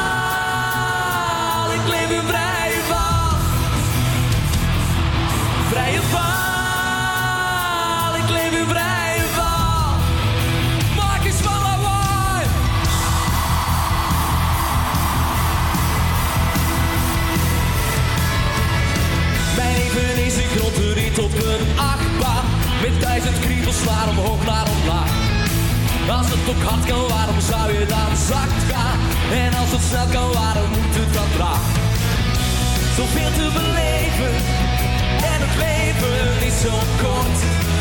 val, ik leef in vrije val. Vrije val, ik leef in vrije val. Maak eens van lawaai. Mijn leven is een grote rit op een achtbaan. Met 1000 kriebels naar omhoog, naar omlaag. Als het ook hard kan, waarom zou je dan zacht gaan? En als het snel kan, waarom moet het dan traag? Zoveel te beleven. En het leven is zo kort.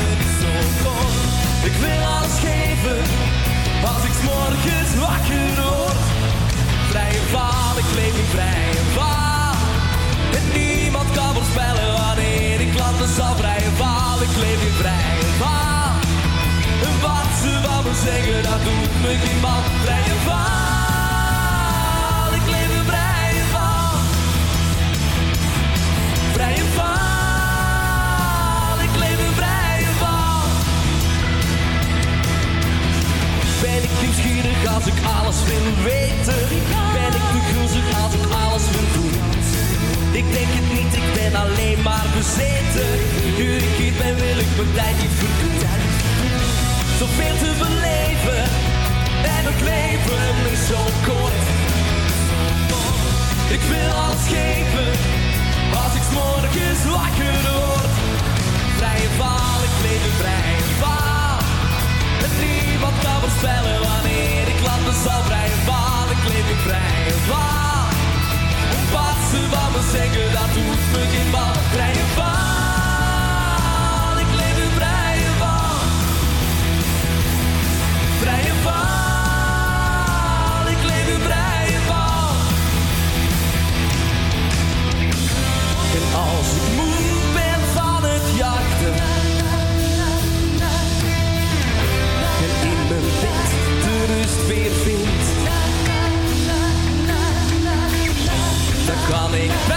Ik wil alles geven. Als ik 's morgens wakker word. Vrije val, ik leef in vrije val. En niemand kan voorspellen wanneer ik landen zal. Vrije val, ik leef in vrije val. En wat ze van me zeggen, dat doet me geen bal. Vrije val, ik leef in vrije val. Vrije val, ik leef in vrije val. Ben ik nieuwsgierig als ik alles wil weten? Ben ik te gulzig als ik alles wil doen? Ik denk het niet, ik ben alleen maar bezeten. Nu ik hier ben, wil ik mijn tijd niet verdoen. Zoveel te beleven. En het leven is zo kort. Ik wil alles geven. Als ik 's morgens wakker word. Vrije val, ik leef in vrije val. En niemand kan voorspellen wanneer ik landen zal. Vrije val, ik leef in vrije val. En wat ze van me zeggen, dat doet me geen bal. Vrije val, ik leef in vrije val. Vrije val, ik leef in vrije val. En als ik moe ben van het jachten en in mijn bed de rust weer vind, dan kan ik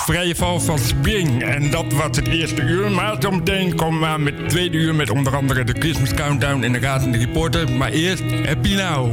vrije val van Spring. En dat was het eerste uur. Maar zometeen komen we aan met het tweede uur... met onder andere de Christmas Countdown en de Razende Reporter. Maar eerst Happy Now.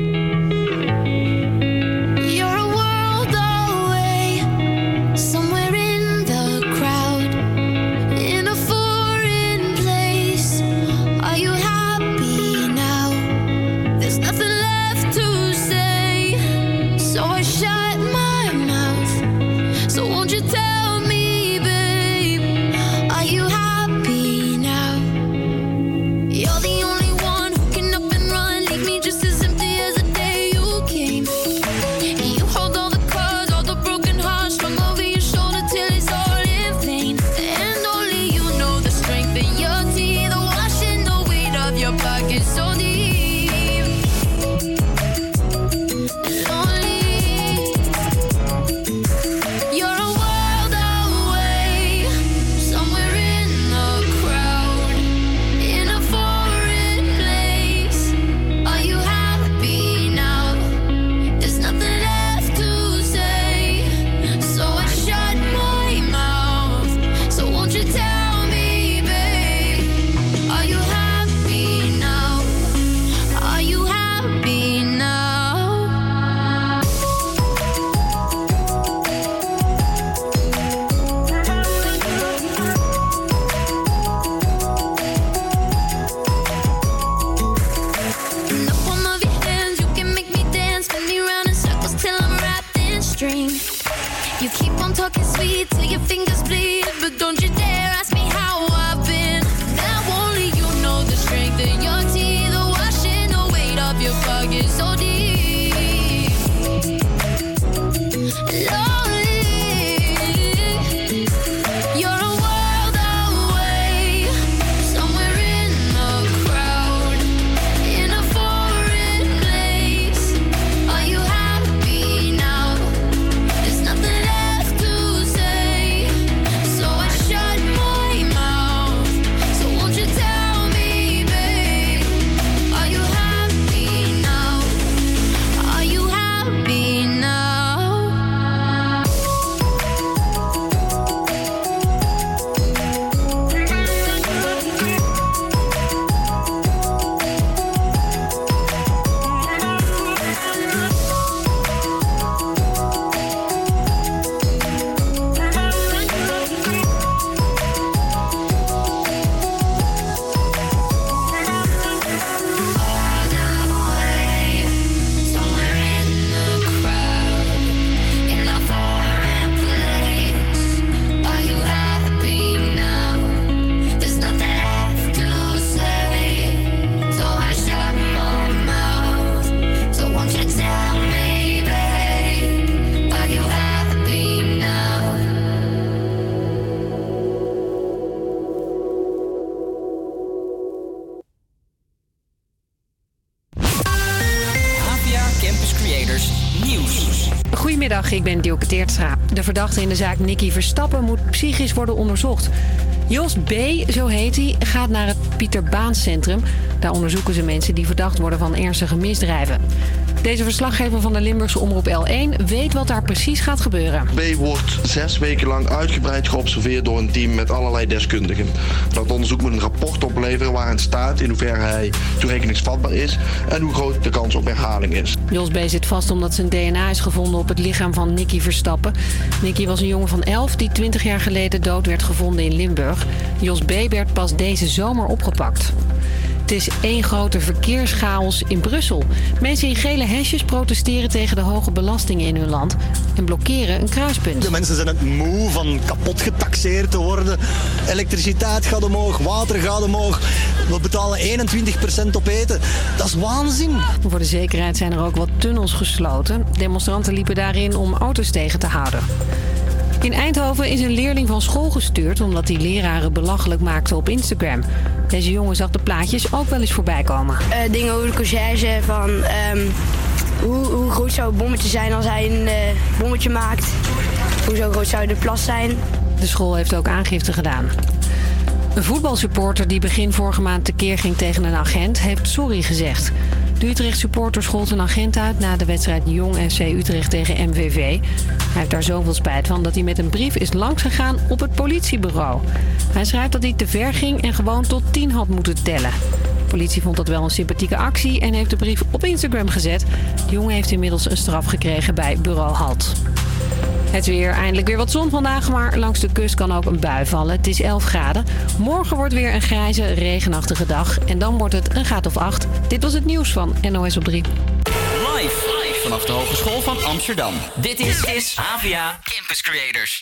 You're a world away, somewhere in the crowd, in a foreign place. Are you happy now? There's nothing left to say, so I shut my mouth. So won't you tell me, babe, are you happy now? You're the only one who can up and run, leave me just as empty as the day you came. You hold all the cards, all the broken hearts, strung over your shoulder till it's all in vain. And only you know the strength in your teeth, the washing the weight of your pockets so deep. Lonely. You're a world away, somewhere in the crowd, in a foreign place. Are you happy now? There's nothing left to say, so I shut my mouth. So won't you tell me, babe, are you happy now? Are you happy now? In the palm of your hands, you can make me dance, spin me round in circles till I'm wrapped in string. You keep on talking sweet till your fingers bleed, but don't you dare ask me how I've been. Now only you know the strength in your teeth, the washing the weight of your pockets so deep. Lonely. You're a world away, somewhere in the crowd, in a foreign place. Are you happy now? There's nothing left to say, so I shut my mouth. So won't you tell me, babe, are you happy now? Are you happy now? Somewhere in the crowd, in a foreign place. Are you happy now? There's nothing left to say, so I shut my mouth. So won't you tell me, babe, are you happy now? APA Campus Creators Nieuws. Goedemiddag, ik ben Dielke Teertstra. De verdachte in de zaak Nicky Verstappen moet psychisch worden onderzocht. Jos B., zo heet hij, gaat naar het Pieter Baan Centrum. Daar onderzoeken ze mensen die verdacht worden van ernstige misdrijven. Deze verslaggever van de Limburgse Omroep L1 weet wat daar precies gaat gebeuren. B wordt 6 weken lang uitgebreid geobserveerd door een team met allerlei deskundigen. Dat onderzoek moet een rapport opleveren waarin staat in hoeverre hij toerekeningsvatbaar is en hoe groot de kans op herhaling is. Jos B. zit vast omdat zijn DNA is gevonden op het lichaam van Nicky Verstappen. Nicky was een jongen van 11 die 20 jaar geleden dood werd gevonden in Limburg. Jos B. werd pas deze zomer opgepakt. Het is één grote verkeerschaos in Brussel. Mensen in gele hesjes protesteren tegen de hoge belastingen in hun land en blokkeren een kruispunt. De mensen zijn het moe van kapot getaxeerd te worden. Elektriciteit gaat omhoog, water gaat omhoog. We betalen 21% op eten. Dat is waanzin. Voor de zekerheid zijn er ook wat tunnels gesloten. Demonstranten liepen daarin om auto's tegen te houden. In Eindhoven is een leerling van school gestuurd omdat hij leraren belachelijk maakte op Instagram. Deze jongen zag de plaatjes ook wel eens voorbij komen. Dingen over de conciërge van hoe groot zou het bommetje zijn als hij een bommetje maakt. Hoe zo groot zou de plas zijn. De school heeft ook aangifte gedaan. Een voetbalsupporter die begin vorige maand tekeer ging tegen een agent heeft sorry gezegd. De Utrecht-supporter schold een agent uit na de wedstrijd Jong FC Utrecht tegen MVV. Hij heeft daar zoveel spijt van dat hij met een brief is langsgegaan op het politiebureau. Hij schrijft dat hij te ver ging en gewoon tot 10 had moeten tellen. De politie vond dat wel een sympathieke actie en heeft de brief op Instagram gezet. De jongen heeft inmiddels een straf gekregen bij bureau Halt. Het weer, eindelijk weer wat zon vandaag, maar langs de kust kan ook een bui vallen. Het is 11 graden. Morgen wordt weer een grijze, regenachtige dag. En dan wordt het een graad of 8. Dit was het nieuws van NOS op 3. Live vanaf de Hogeschool van Amsterdam. Dit is AVA Campus Creators.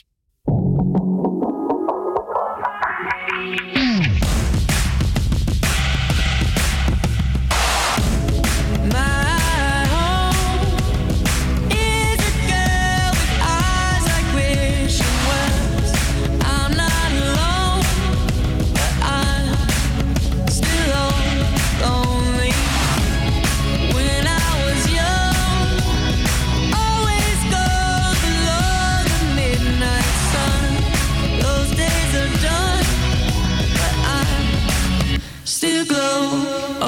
Still glow.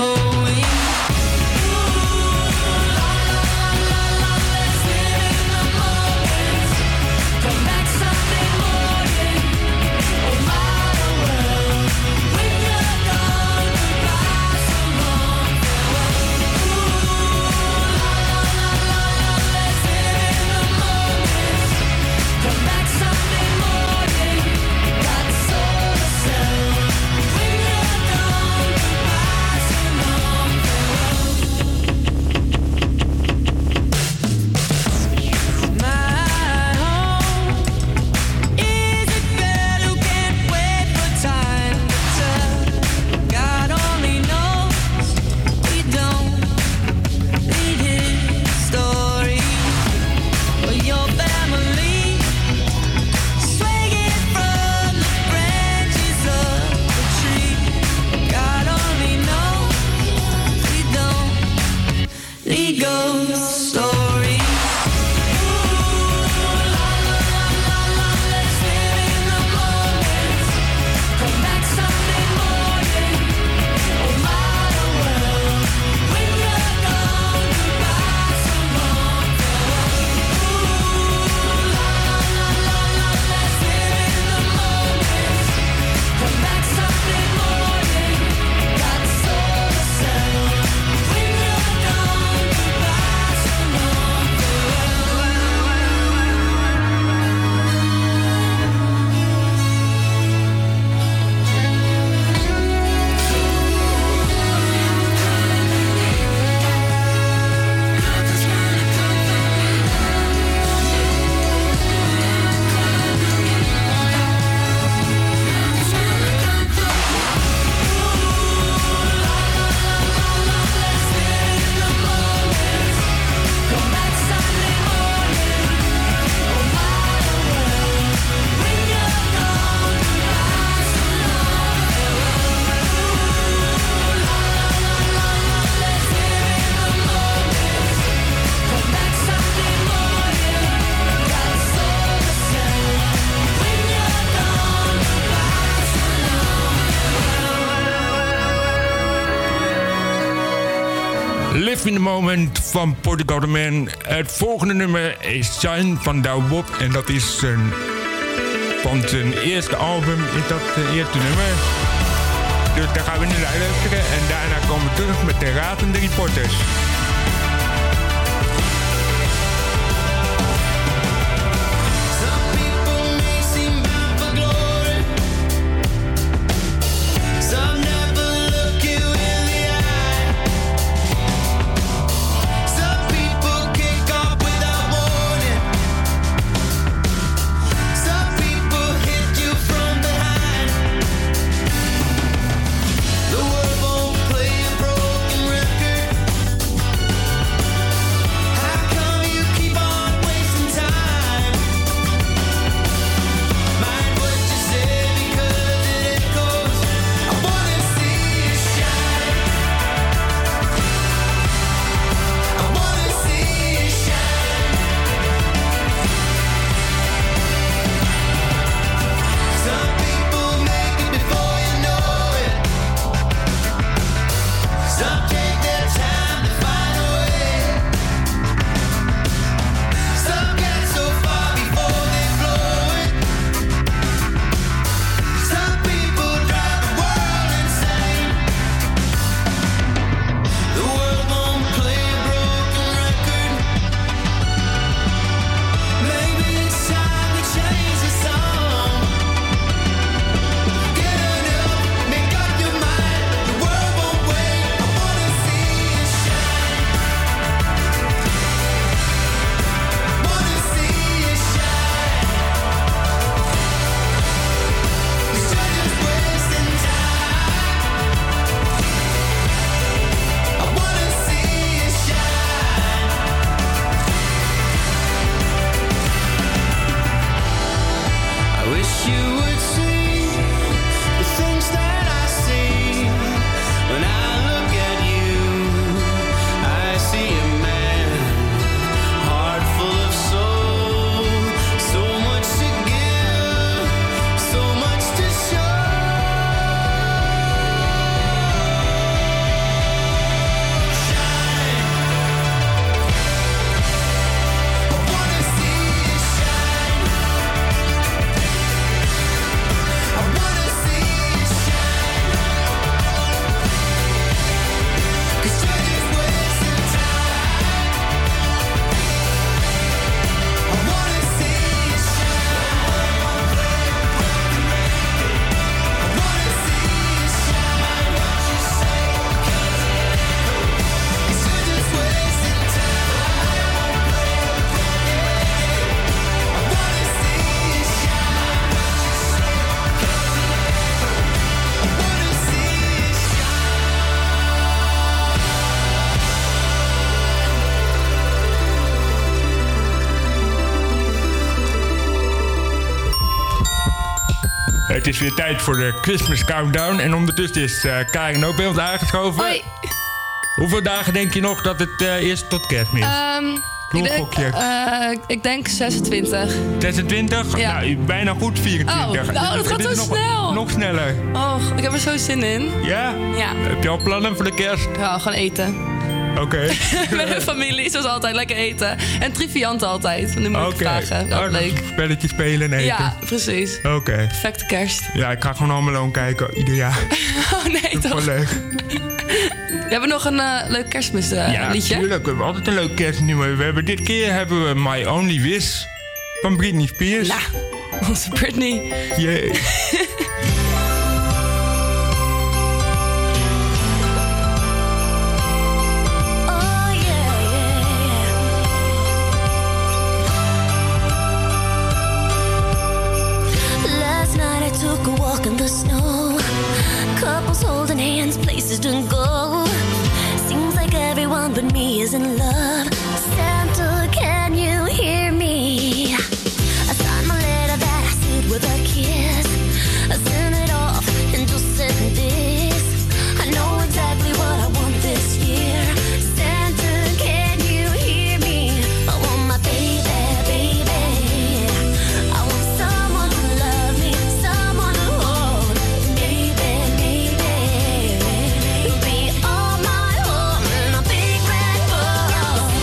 Live in the Moment van Portugal the Man. Het volgende nummer is Shine van Douwe Bob. En dat is van zijn eerste album, is dat het eerste nummer. Dus daar gaan we nu naar luisteren. En daarna komen we terug met de ratende reporters. The world won't play a broken record. Het is weer tijd voor de Christmas Countdown. En ondertussen is Karin ook bij ons aangeschoven. Hoi. Hoeveel dagen denk je nog dat het eerst tot kerstmis is? Ik denk 26. 26? Ja. Nou, bijna goed 24. Nou, dat gaat zo snel. Nog sneller. Och, ik heb er zo zin in. Ja? Ja. Heb je al plannen voor de kerst? Ja, gewoon eten. Oké. Met mijn familie, zoals altijd, lekker eten. En triviant altijd, van die moeilijke vragen. Dat leuk. Spelletjes spelen en eten. Ja, precies. Oké. Perfecte kerst. Ja, ik ga gewoon Home Alone kijken, ieder jaar. Oh nee, toch? Wel leuk. We hebben nog een leuk kerstmisliedje. Ja, natuurlijk. We hebben altijd een leuk kerstnummer. Dit keer hebben we My Only Wish van Britney Spears. Nou, onze Britney. Jee. Took a walk in the snow. Couples holding hands, places to go. Seems like everyone but me is in love. Santa, can you hear me? I signed my letter that I sealed with a kiss. I sent it off and just said this. I know exactly what I want this year. Santa, can you hear me? I want my baby, baby. I want someone to love me. Be all my home in a big red boat.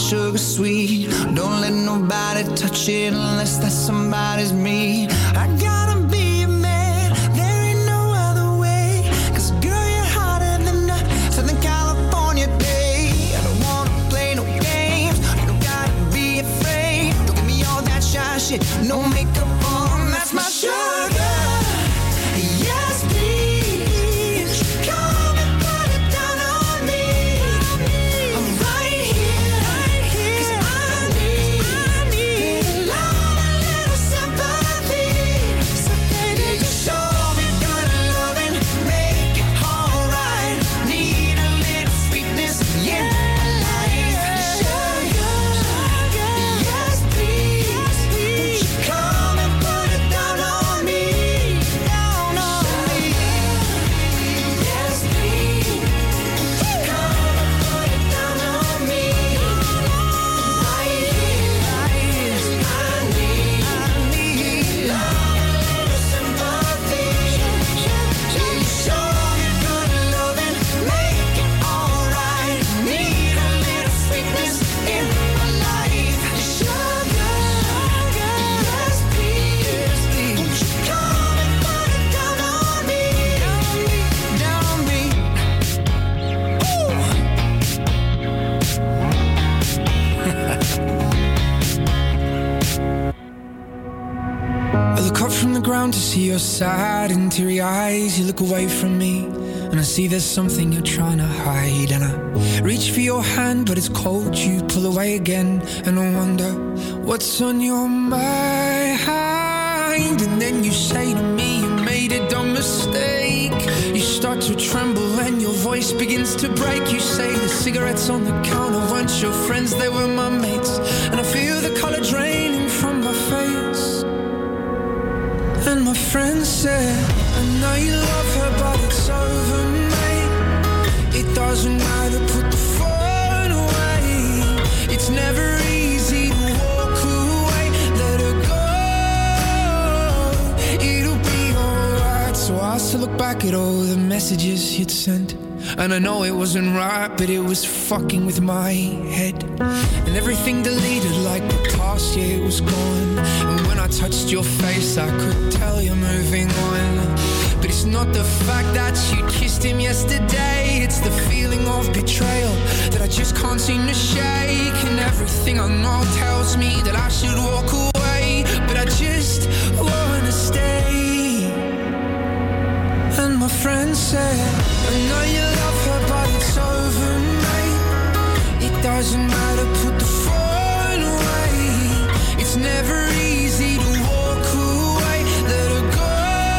sugar sweet. Don't let nobody touch it unless that somebody's me. I gotta be a man, there ain't no other way. 'Cause girl, you're hotter than a Southern California day. I don't wanna play no games, you don't gotta be afraid. Don't give me all that shy shit, no makeup on, that's my sugar. Yes, please, come and put it down on me. I'm right here, 'cause I need love, a little sympathy. So baby, just show me good loving, make it alright. Need a little sweetness in my life. Sugar, yes please, won't you come and put it down on me, down on me. Yes please, come and put it down on me. Right here, I need love, a little sympathy. Show me good loving, make it alright. Need a little sweetness in my life. Sugar, yes please, won't you come and put it down on me, down on me. I look up from the ground to see your sad and teary eyes. You look away from me and I see there's something you're trying to hide. And I reach for your hand but it's cold, you pull away again. And I wonder what's on your mind. And then you say to me you made a dumb mistake. You start to tremble and your voice begins to break. You say the cigarettes on the counter weren't your friends, they were my mates. And I feel the color draining from my face. And my friend said, I know you love her, but it's over, mate. It doesn't matter, put the phone away. It's never easy to walk away. Let her go, it'll be alright. So I still look back at all the messages you'd sent. And I know it wasn't right, but it was fucking with my head. And everything deleted like the past, yeah, it was gone. And when I touched your face, I could tell you're moving on. But it's not the fact that you kissed him yesterday. It's the feeling of betrayal that I just can't seem to shake. And everything I know tells me that I should walk away, but I just wanna stay. And my friend said, I know you love her, but it's over, mate. It doesn't matter, put the phone away. It's never easy to walk away. Let her go,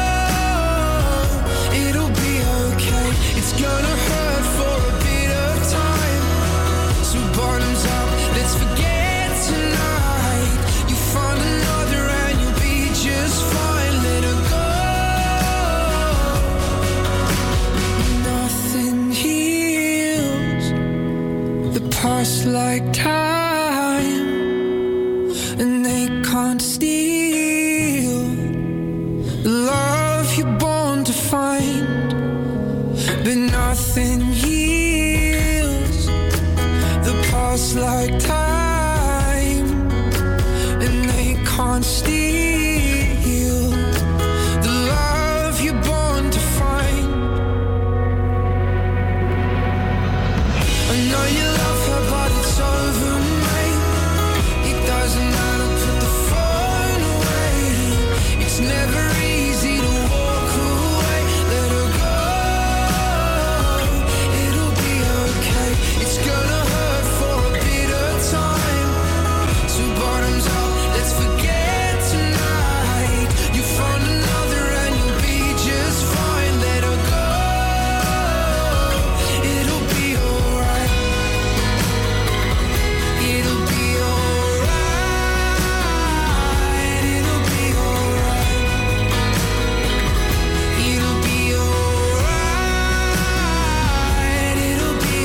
it'll be okay. It's gonna hurt for a bit of time. So bottoms up, let's forget tonight. You find another and you'll be just fine. Let her go. Nothing heals the past like time, and they can't steal the love you're born to find. But nothing heals the past like time, and they can't steal the love you're born to find. I know you love her, but it's over, mate. It doesn't matter, put the phone away. It's never easy to walk away. Let her go, it'll be okay. It's gonna hurt for a bit of time. So bottoms up, let's forget tonight. You found another and you'll be just fine. Let her go, it'll be alright. It'll be alright. It'll be alright. It'll be alright. It'll be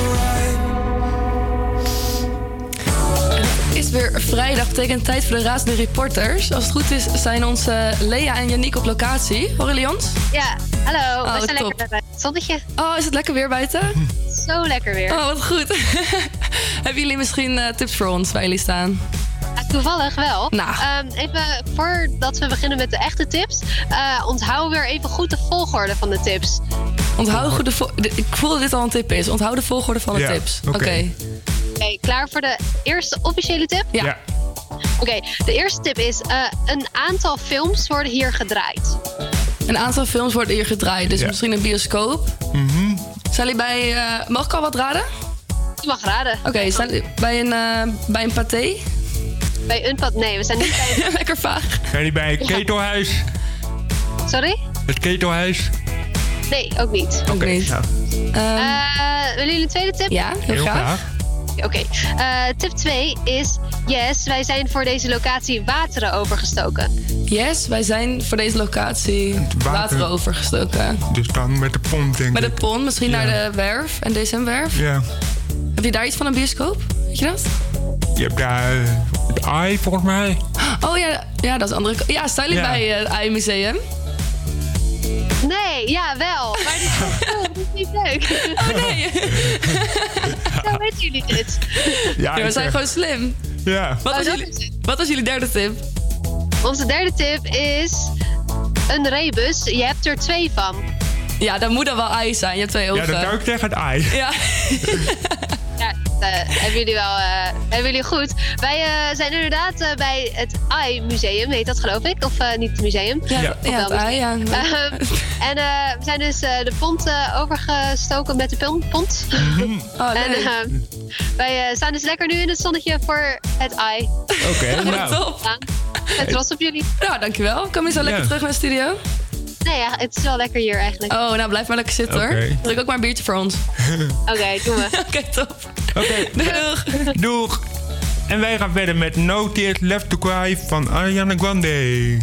alright. Het is weer vrijdag, betekent tijd voor de razende reporters. Als het goed is, zijn onze Lea en Yannick op locatie. Horen jullie ons? Ja, hallo. We zijn top. lekker buiten het zonnetje. Oh, is het lekker weer buiten? Zo lekker weer. Oh, wat goed. Hebben jullie misschien tips voor ons waar jullie staan? Toevallig wel. Nou. Even voordat we beginnen met de echte tips, onthoud weer even goed de volgorde van de tips. Ik voel dat dit al een tip is. Onthoud de volgorde van de tips. Oké, klaar voor de eerste officiële tip? Ja. Oké, de eerste tip is: een aantal films worden hier gedraaid. Een aantal films worden hier gedraaid, dus misschien een bioscoop. Zijn jullie bij... mag ik al wat raden? Je mag raden. Oké, zijn jullie bij een paté? Bij een paté? Nee, we zijn niet bij... Lekker vaag. Zijn jullie bij het ketelhuis? Sorry? Het ketelhuis? Nee, ook niet. Oké. Willen jullie een tweede tip? Ja, heel graag. Oké. Tip 2 is... Yes, wij zijn voor deze locatie wateren overgestoken. Yes, wij zijn voor deze locatie wateren overgestoken. Dus dan met de pont, denk ik. Met de pont, misschien naar de werf, en DSM-werf. Ja. Heb je daar iets van een bioscoop? Weet je dat? Je hebt daar het AI, volgens mij. Oh ja, dat is andere... Ja, staan jullie bij het AI-museum? Nee, ja, wel. Maar dit is niet leuk. Oh nee. Hoe weten jullie dit? Ja, we zijn gewoon slim. Ja. Wat was jullie derde tip? Onze derde tip is een rebus. Je hebt er 2 van. Ja, dat moet dan wel AI zijn. Je hebt 2 ogen. Ja, dat zou ik zeggen, het AI. Ja. Ja, hebben jullie goed. Wij zijn inderdaad bij het AI-museum, heet dat geloof ik? Of niet het museum? Ja, het AI, ja. En we zijn dus de pont overgestoken met de pont. Oh, en wij staan dus lekker nu in het zonnetje voor het AI. Oké, nou. Top. Ik ben trots op jullie. Nou, dankjewel. Kom je zo lekker terug naar de studio? Nee, ja, het is wel lekker hier eigenlijk. Oh, nou blijf maar lekker zitten hoor. Druk ook maar een biertje voor ons. Oké, doen we. Oké, top. Oké, doeg. Doeg. En wij gaan verder met No Tears Left to Cry van Ariana Grande.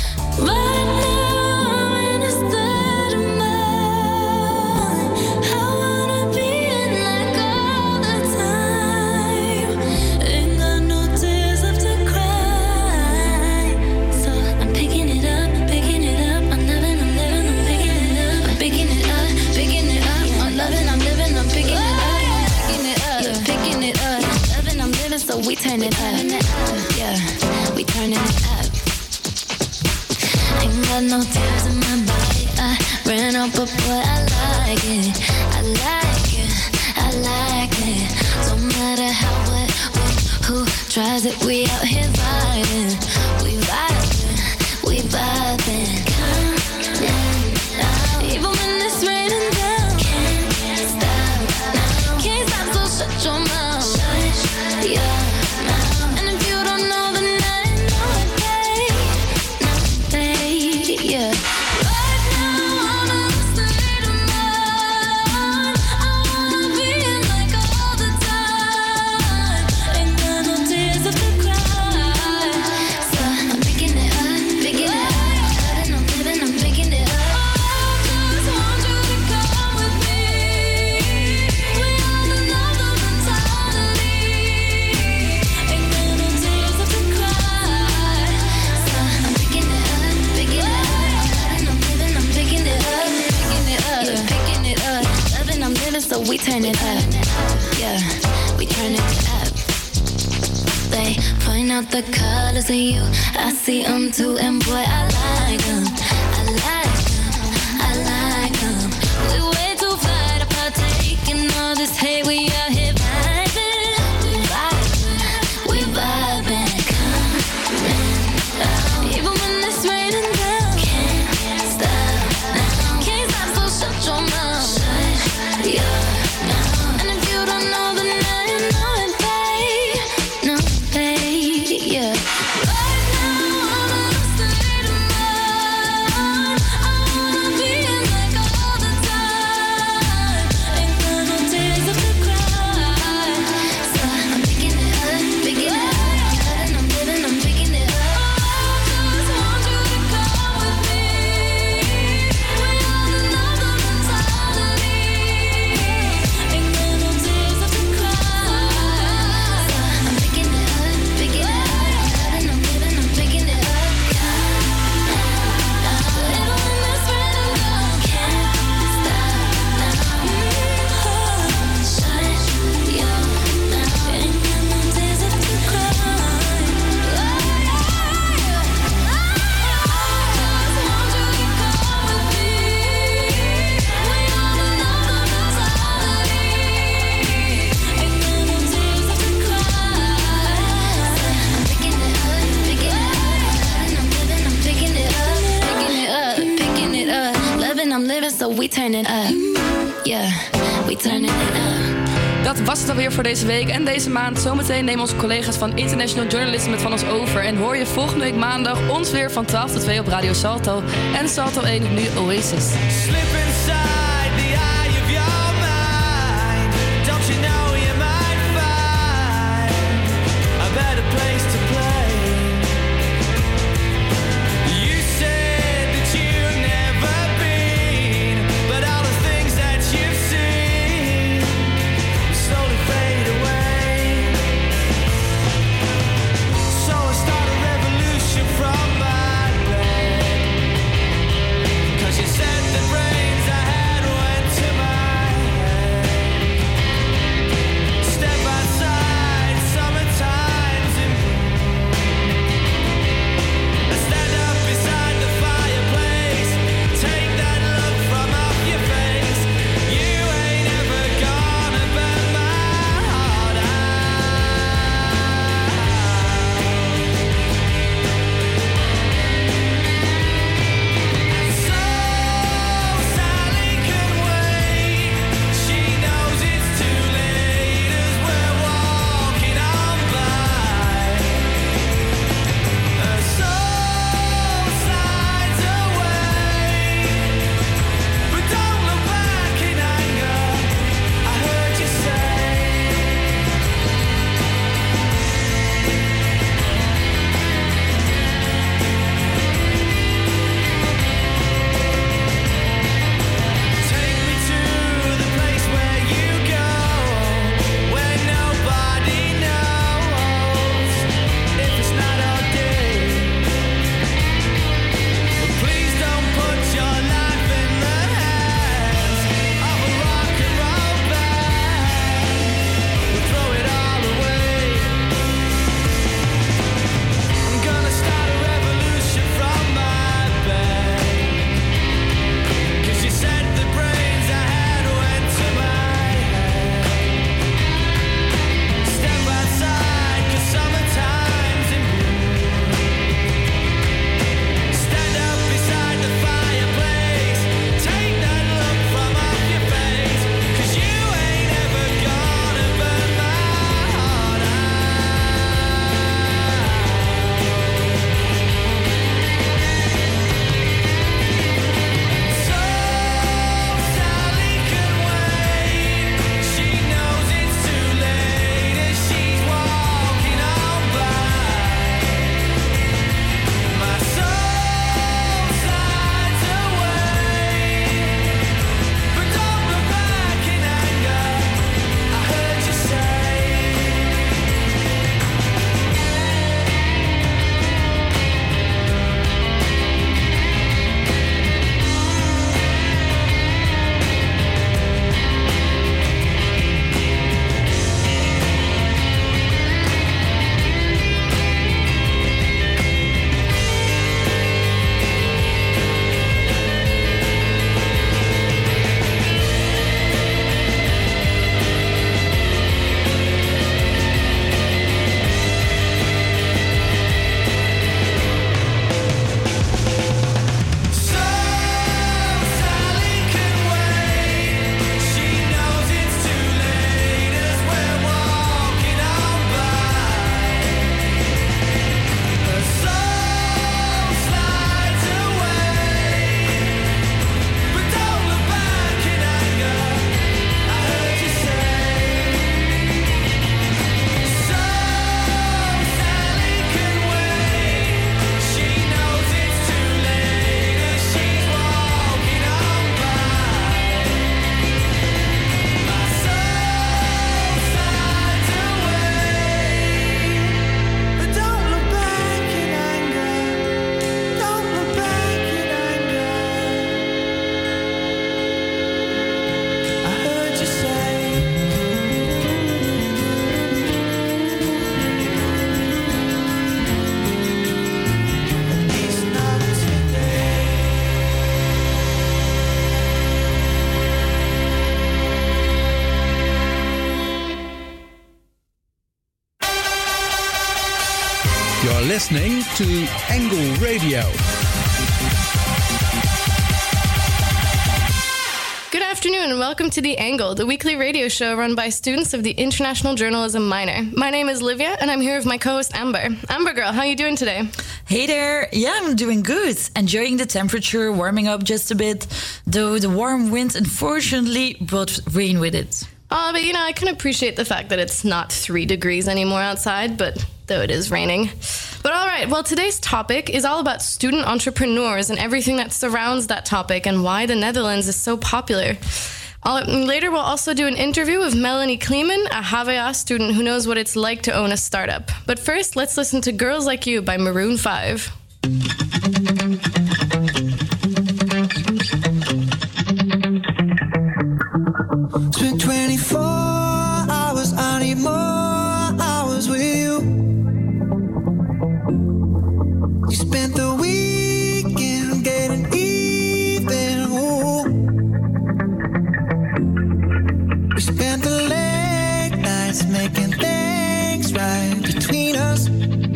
So we turn it up, yeah, we turning it up. Ain't got no tears in my body, I ran up, but boy, I like it, I like it, I like it. Don't matter how, what, who tries it, we out here vibing, we vibing, we vibing. Come on, even when it's raining down, can't stop now, can't stop, so shut your mouth. Yeah, and if you don't know, then I know it, babe. No, babe, yeah. Right now, I'm in a state of mind. I wanna be in like all the time. Ain't got no tears left to cry. So I'm picking it up, and I'm living, I'm picking it up. I just want you to come with me. We on another mentality. So we turn it up, yeah, we turn it up. They point out the colors of you, I see them too, and boy, I like them, I like them, I like them. We way too fly to partake in all this hate, we out here vibing, we vibing, we vibing. Come on, even when it's raining down, can't stop now, can't stop, so shut your mouth, yeah. Right now, I'm in a state of mind. I'm living, so we turn it up. Yeah, we turn it up. Dat was het alweer voor deze week en deze maand. Zometeen nemen onze collega's van International Journalism het van ons over. En hoor je volgende week maandag ons weer van 12 tot 2 op Radio Salto. En Salto 1 nu Oasis. Slip inside the eye of your mind. Don't you know you might find a better place to play? You said that you've never been, but all the things that you've seen slowly fade away. So I start a revolution from my bed, 'cause you said the brains I had went to my head. Step outside, summertime's in bloom. I stand up beside the fireplace, take that look from off your face. You ain't ever gonna burn my heart So Sally can wait. She knows it's too late as we're walking on by. Her soul slides away, but don't look back in anger. I heard you say. Take me to the place where you go, where nobody knows if it's not our day. But please don't put your life in the hands of a rock and roll band. We'll throw it all away. I'm gonna start a revolution from my bed, 'cause you said the brains I had went to my head. Step outside, 'cause summertime's in bloom. Stand up beside the fireplace, take that look from off your face, 'cause you ain't ever gonna burn my heart So Sally can wait. She knows it's too late as she's walking on by. My soul slides away, but don't look back in anger. I heard you say. Sally can wait. She knows it's too late as we're walking on by. Her soul slides away, but don't look back in anger. I heard you say. So Sally can wait. She knows it's too late as she's walking on by. My soul slides away, but don't look back in anger. Don't look back in anger. I heard you say. It's not today. You're listening to Angle Radio. afternoon and welcome to The Angle, the weekly radio show run by students of the International Journalism minor. My name is Livia and I'm here with my co-host Amber. Amber girl, how are you doing today? Hey there, yeah, I'm doing good. Enjoying the temperature, warming up just a bit, though the warm wind unfortunately brought rain with it. But you know, I can appreciate the fact that it's not 3 degrees anymore outside, but though it is raining. But all right, well, today's topic is all about student entrepreneurs and everything that surrounds that topic and why the Netherlands is so popular. Later, we'll also do an interview with Melanie Kleeman, a HVA student who knows what it's like to own a startup. But first, let's listen to Girls Like You by Maroon 5. Spent 24 hours, I need more hours with you. You spent the weekend getting even. Ooh. We spent the late nights making things right between us.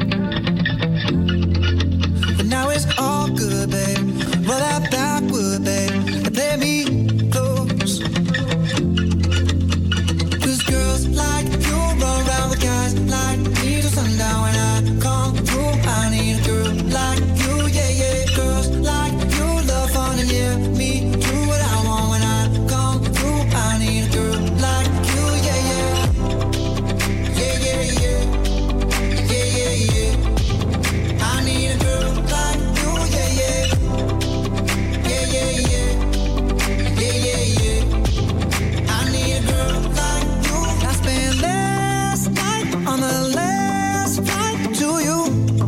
But now it's all good, babe. Roll that backward, babe, and play me close. Girls like you run around with guys like me till sundown. When I come through, I need a girl like you, yeah, yeah. Girls like you love fun and yeah, me do what I want. When I come through, I need a girl like you, yeah, yeah. Yeah, yeah, yeah. Yeah, yeah, yeah. I need a girl like you, yeah, yeah. Yeah, yeah, yeah. Yeah, yeah, yeah. I need a girl like last night on the last flight to you.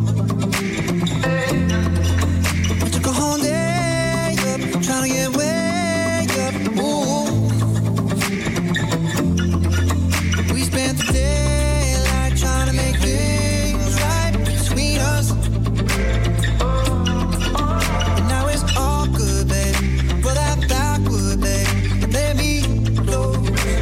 I took a whole day up, trying to get way up. Ooh. We spent the daylight trying to make things right between us. And now it's all good, babe. Roll that backward, babe, and let me close.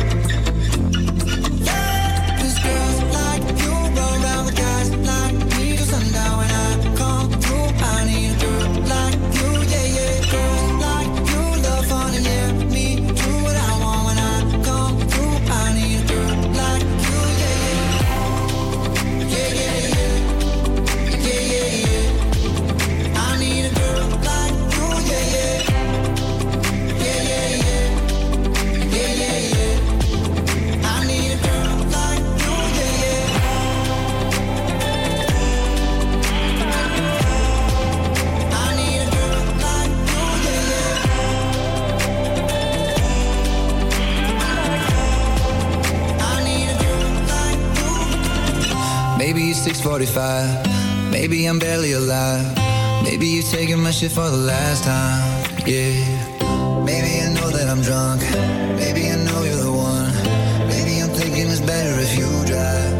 Maybe it's 6:45, maybe I'm barely alive. Maybe you're taking my shit for the last time, yeah. Maybe I know that I'm drunk, maybe I know you're the one. Maybe I'm thinking it's better if you drive.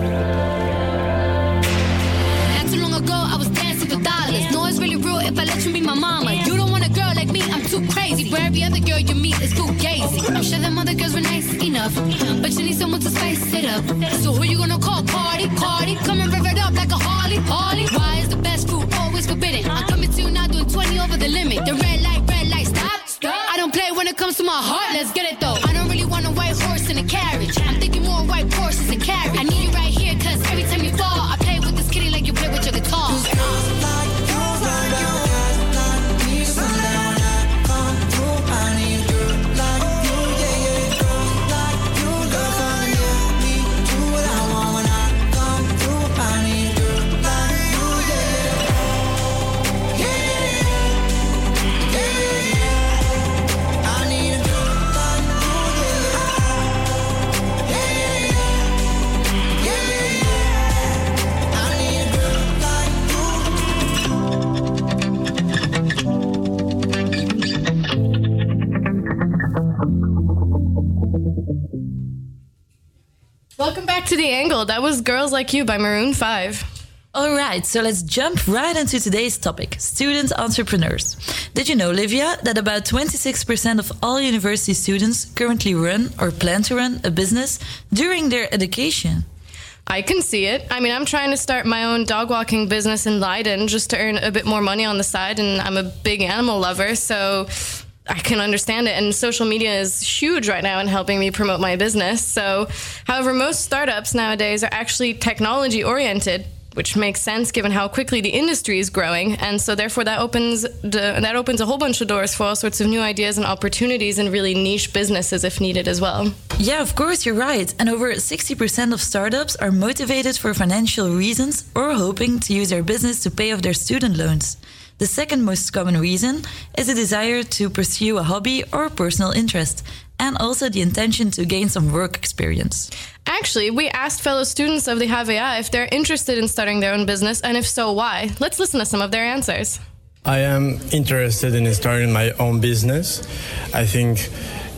Not too long ago, I was dancing for dollars. No, it's really real if I let you be my mama. You don't want a girl like me, I'm too crazy. Where every other girl you meet is too gazy. I'm sure them other girls were nice enough, but you need someone to spice it up. So who you gonna call? Cardi, come and rev it up like a Harley. Why is the best food always forbidden? I'm coming to you now doing 20 over the limit. The red light, stop. I don't play when it comes to my heart, let's get it though. I don't really want a white horse in a carriage. I'm thinking more white horses and carriage. I need you right here, cause every time you fall, I play with this kitty like you play with your guitar. Welcome back to The Angle. That was Girls Like You by Maroon 5. All right, so let's jump right into today's topic, student entrepreneurs. Did you know, Livia, that about 26% of all university students currently run or plan to run a business during their education? I can see it. I mean, I'm trying to start my own dog walking business in Leiden just to earn a bit more money on the side, and I'm a big animal lover, so I can understand it. And social media is huge right now in helping me promote my business. So, however, most startups nowadays are actually technology oriented, which makes sense given how quickly the industry is growing. And so therefore that opens a whole bunch of doors for all sorts of new ideas and opportunities in really niche businesses if needed as well. Yeah, of course, you're right. And over 60% of startups are motivated for financial reasons or hoping to use their business to pay off their student loans. The second most common reason is a desire to pursue a hobby or personal interest, and also the intention to gain some work experience. Actually, we asked fellow students of the HVA if they're interested in starting their own business, and if so, why. Let's listen to some of their answers. I am interested in starting my own business. I think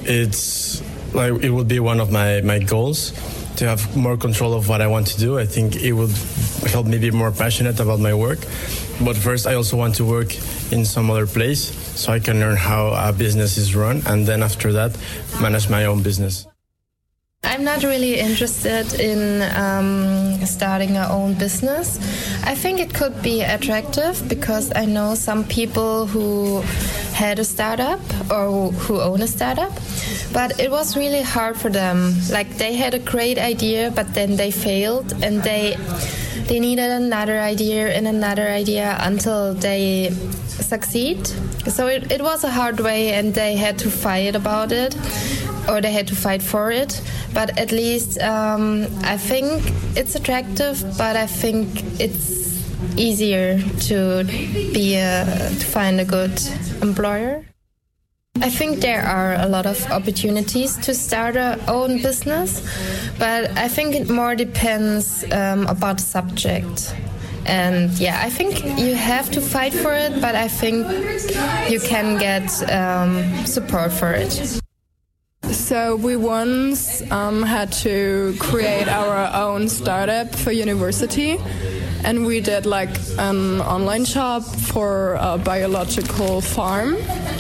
it would be one of my goals to have more control of what I want to do. I think it would help me be more passionate about my work. But first, I also want to work in some other place so I can learn how a business is run, and then after that, manage my own business. I'm not really interested in starting our own business. I think it could be attractive because I know some people who had a startup or who own a startup, but it was really hard for them. Like, they had a great idea, but then they failed, and they needed another idea until they succeed. So it was a hard way, and they had to fight about it, or they had to fight for it. But at least I think it's attractive, but I think it's easier to find a good employer. I think there are a lot of opportunities to start our own business, but I think it more depends about the subject. And yeah, I think you have to fight for it, but I think you can get support for it. So we once had to create our own startup for university, and we did like an online shop for a biological farm.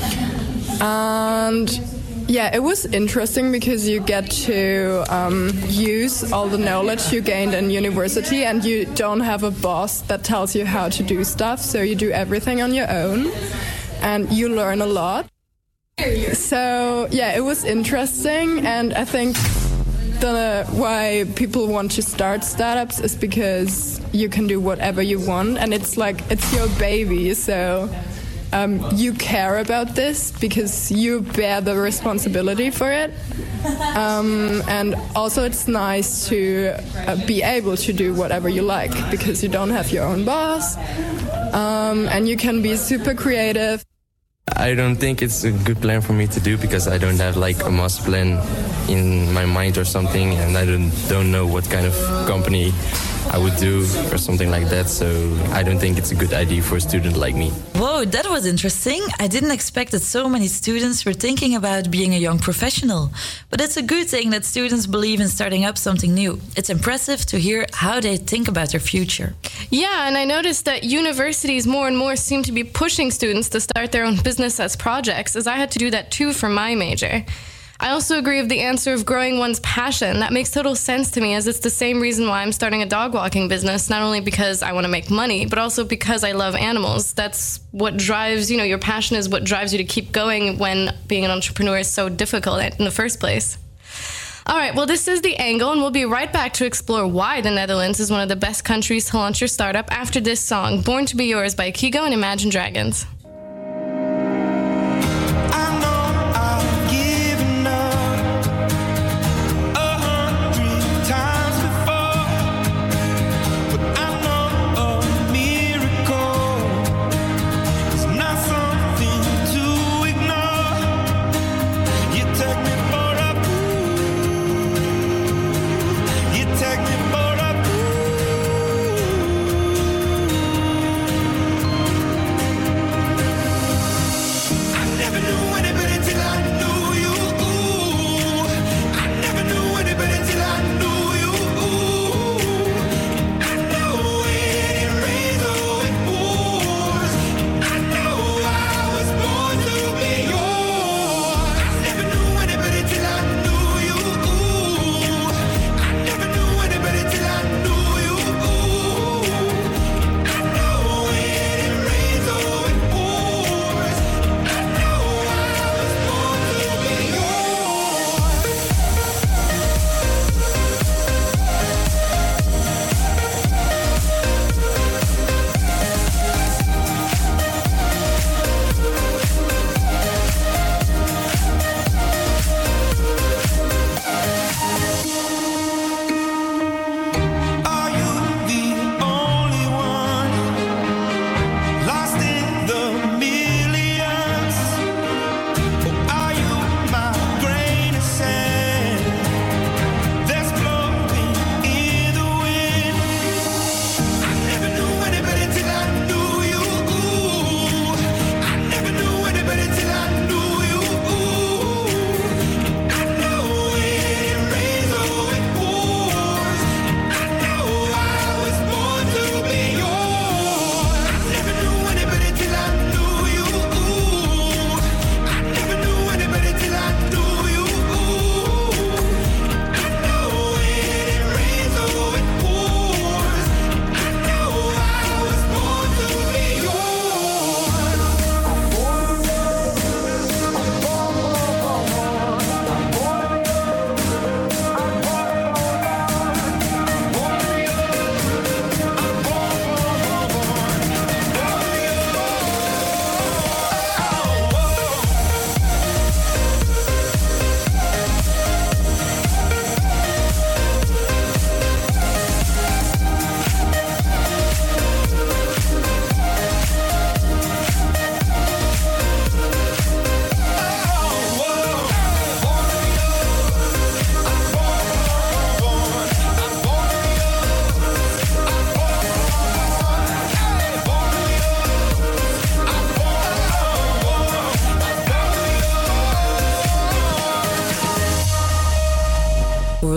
And yeah, it was interesting because you get to use all the knowledge you gained in university, and you don't have a boss that tells you how to do stuff, so you do everything on your own and you learn a lot. So yeah, it was interesting, and I think why people want to start startups is because you can do whatever you want, and it's like it's your baby, so you care about this because you bear the responsibility for it. And also it's nice to be able to do whatever you like because you don't have your own boss, and you can be super creative. I don't think it's a good plan for me to do because I don't have like a master plan in my mind or something, and I don't know what kind of company I would do or something like that. So I don't think it's a good idea for a student like me. Whoa, that was interesting. I didn't expect that so many students were thinking about being a young professional. But it's a good thing that students believe in starting up something new. It's impressive to hear how they think about their future. Yeah, and I noticed that universities more and more seem to be pushing students to start their own business as projects, as I had to do that too for my major. I also agree with the answer of growing one's passion. That makes total sense to me, as it's the same reason why I'm starting a dog walking business, not only because I want to make money, but also because I love animals. That's what drives, your passion is what drives you to keep going when being an entrepreneur is so difficult in the first place. All right, well, this is The Angle, and we'll be right back to explore why the Netherlands is one of the best countries to launch your startup after this song, Born to Be Yours by Kygo and Imagine Dragons.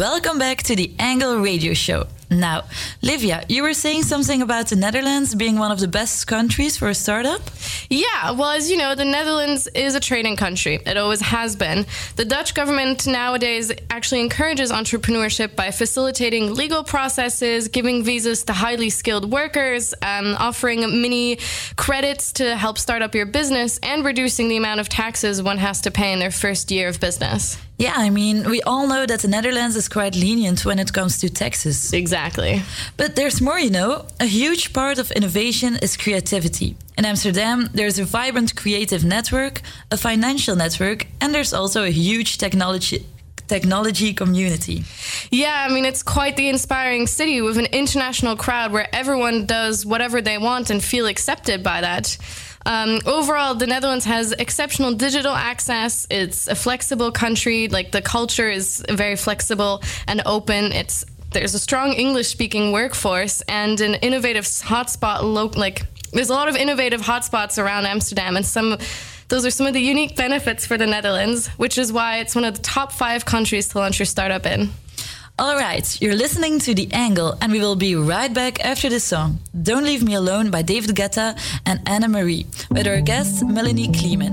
Welcome back to the Angle Radio Show. Now, Livia, you were saying something about the Netherlands being one of the best countries for a startup? Yeah, well, as you know, the Netherlands is a trading country. It always has been. The Dutch government nowadays actually encourages entrepreneurship by facilitating legal processes, giving visas to highly skilled workers, offering mini credits to help start up your business, and reducing the amount of taxes one has to pay in their first year of business. Yeah, I mean, we all know that the Netherlands is quite lenient when it comes to taxes. Exactly. But there's more, you know. A huge part of innovation is creativity. In Amsterdam, there's a vibrant creative network, a financial network, and there's also a huge technology community. Yeah, I mean, it's quite the inspiring city with an international crowd where everyone does whatever they want and feel accepted by that. Overall, the Netherlands has exceptional digital access. It's a flexible country. Like, the culture is very flexible and open. There's a strong English-speaking workforce and an innovative hotspot. There's a lot of innovative hotspots around Amsterdam, and those are some of the unique benefits for the Netherlands, which is why it's one of the top 5 countries to launch your startup in. All right, you're listening to The Angle, and we will be right back after this song, Don't Leave Me Alone by David Guetta and Anna Marie, with our guest, Melanie Kleeman.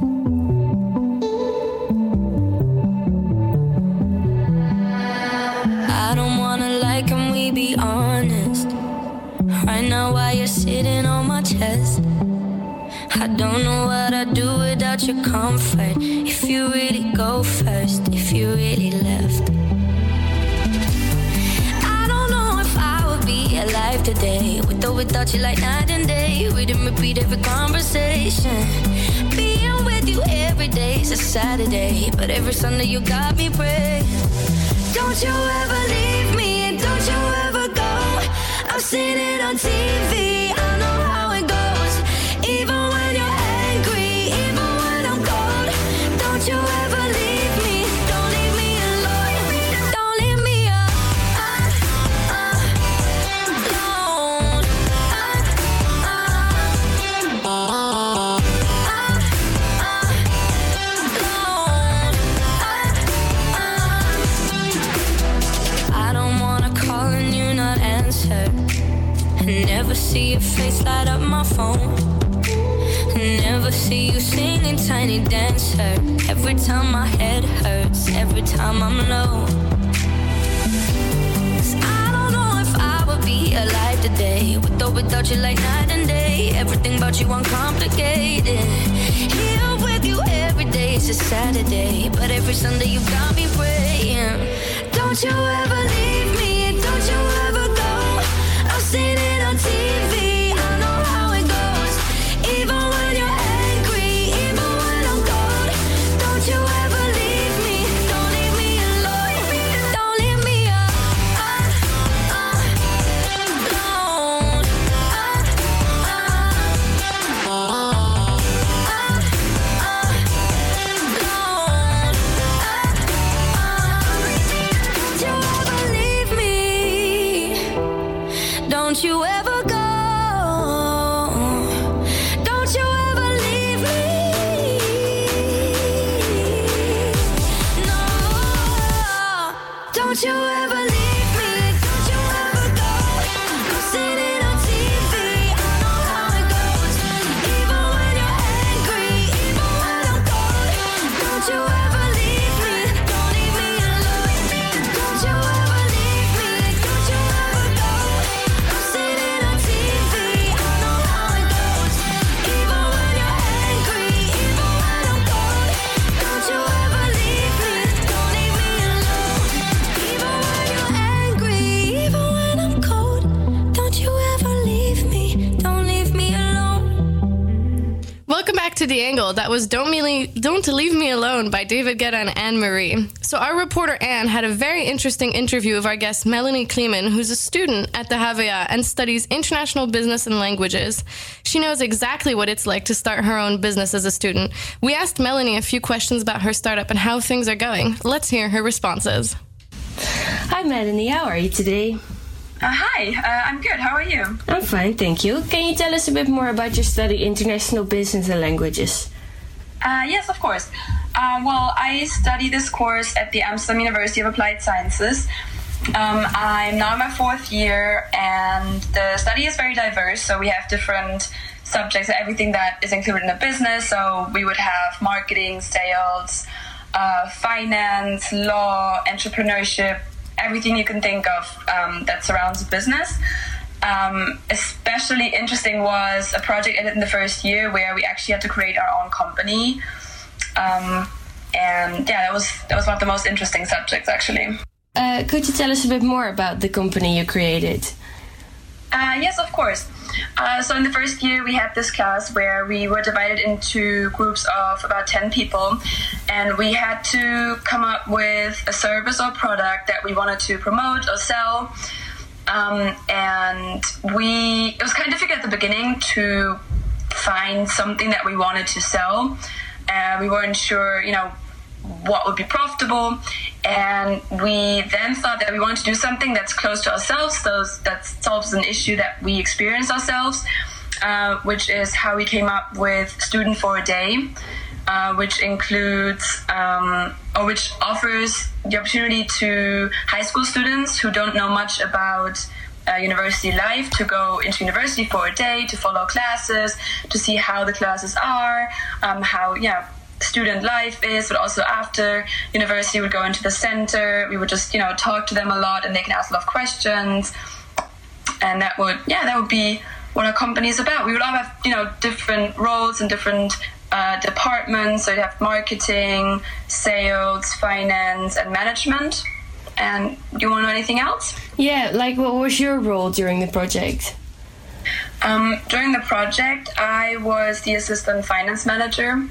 I don't wanna lie, can we be honest? Right now while you're sitting on my chest, I don't know what I'd do without your comfort. If you really go first, if you really left, be alive today, with or without you, like night and day. Read and repeat every conversation. Being with you every day is a Saturday, but every Sunday you got me praying. Don't you ever leave me, and don't you ever go. I've seen it on TV, I know how it goes. Even when you're angry, even when I'm cold. Don't you ever leave me, don't leave me alone. Don't leave me alone. Never see your face light up my phone. Never see you singing Tiny Dancer. Every time my head hurts, every time I'm low. 'Cause I don't know if I would be alive today, with or without you, like night and day. Everything about you uncomplicated. Here with you every day is a Saturday, but every Sunday you got me praying. Don't you ever leave me, don't you ever go. I've seen it on TV, I know how it goes. Even when you're angry, even when I'm cold. Don't you ever leave me, don't leave me alone. Don't leave me alone. Don't you ever go. Don't you ever leave me. No. Don't you ever leave me. Don't you ever go. I've seen it on TV. I know how it goes. Even when you're angry, even when I'm cold. Don't you ever leave me. Don't leave me alone. Don't you ever leave me. Don't you ever go. I've seen it on TV. I know how it goes. Even when you're angry, even when I'm cold. Don't you ever leave me. Don't leave me alone. Even when you're angry, even when I'm cold. Don't you ever leave me. Don't leave me alone. Welcome back to The Angle. That was Don't Leave Me Alone by David Guetta and Anne Marie. So our reporter Anne had a very interesting interview of our guest Melanie Kleeman, who's a student at the HVA and studies international business and languages. She knows exactly what it's like to start her own business as a student. We asked Melanie a few questions about her startup and how things are going. Let's hear her responses. Hi Melanie, how are you today? Hi, I'm good. How are you? I'm fine, thank you. Can you tell us a bit more about your study international business and languages? Yes, of course. Well, I study this course at the Amsterdam University of Applied Sciences, I'm now in my 4th year, and the study is very diverse. So we have different subjects, everything that is included in a business. So we would have marketing, sales, finance, law, entrepreneurship, everything you can think of that surrounds a business. Especially interesting was a project I did in the 1st year where we actually had to create our own company. And yeah, that was one of the most interesting subjects, actually. Could you tell us a bit more about the company you created? Yes, of course. So in the 1st year, we had this class where we were divided into groups of about 10 people, and we had to come up with a service or product that we wanted to promote or sell. And it was kind of difficult at the beginning to find something that we wanted to sell. We weren't sure, what would be profitable. And we then thought that we wanted to do something that's close to ourselves, so that solves an issue that we experience ourselves, which is how we came up with Student for a Day, which includes which offers the opportunity to high school students who don't know much about university life to go into university for a day, to follow classes, to see how the classes are, how student life is, but also after university we would go into the center. We would just talk to them a lot, and they can ask a lot of questions, and that would be what our company is about. We would all have different roles and different departments. So you'd have marketing, sales, finance, and management. And do you want to know anything else? Yeah, what was your role during the project? During the project, I was the assistant finance manager.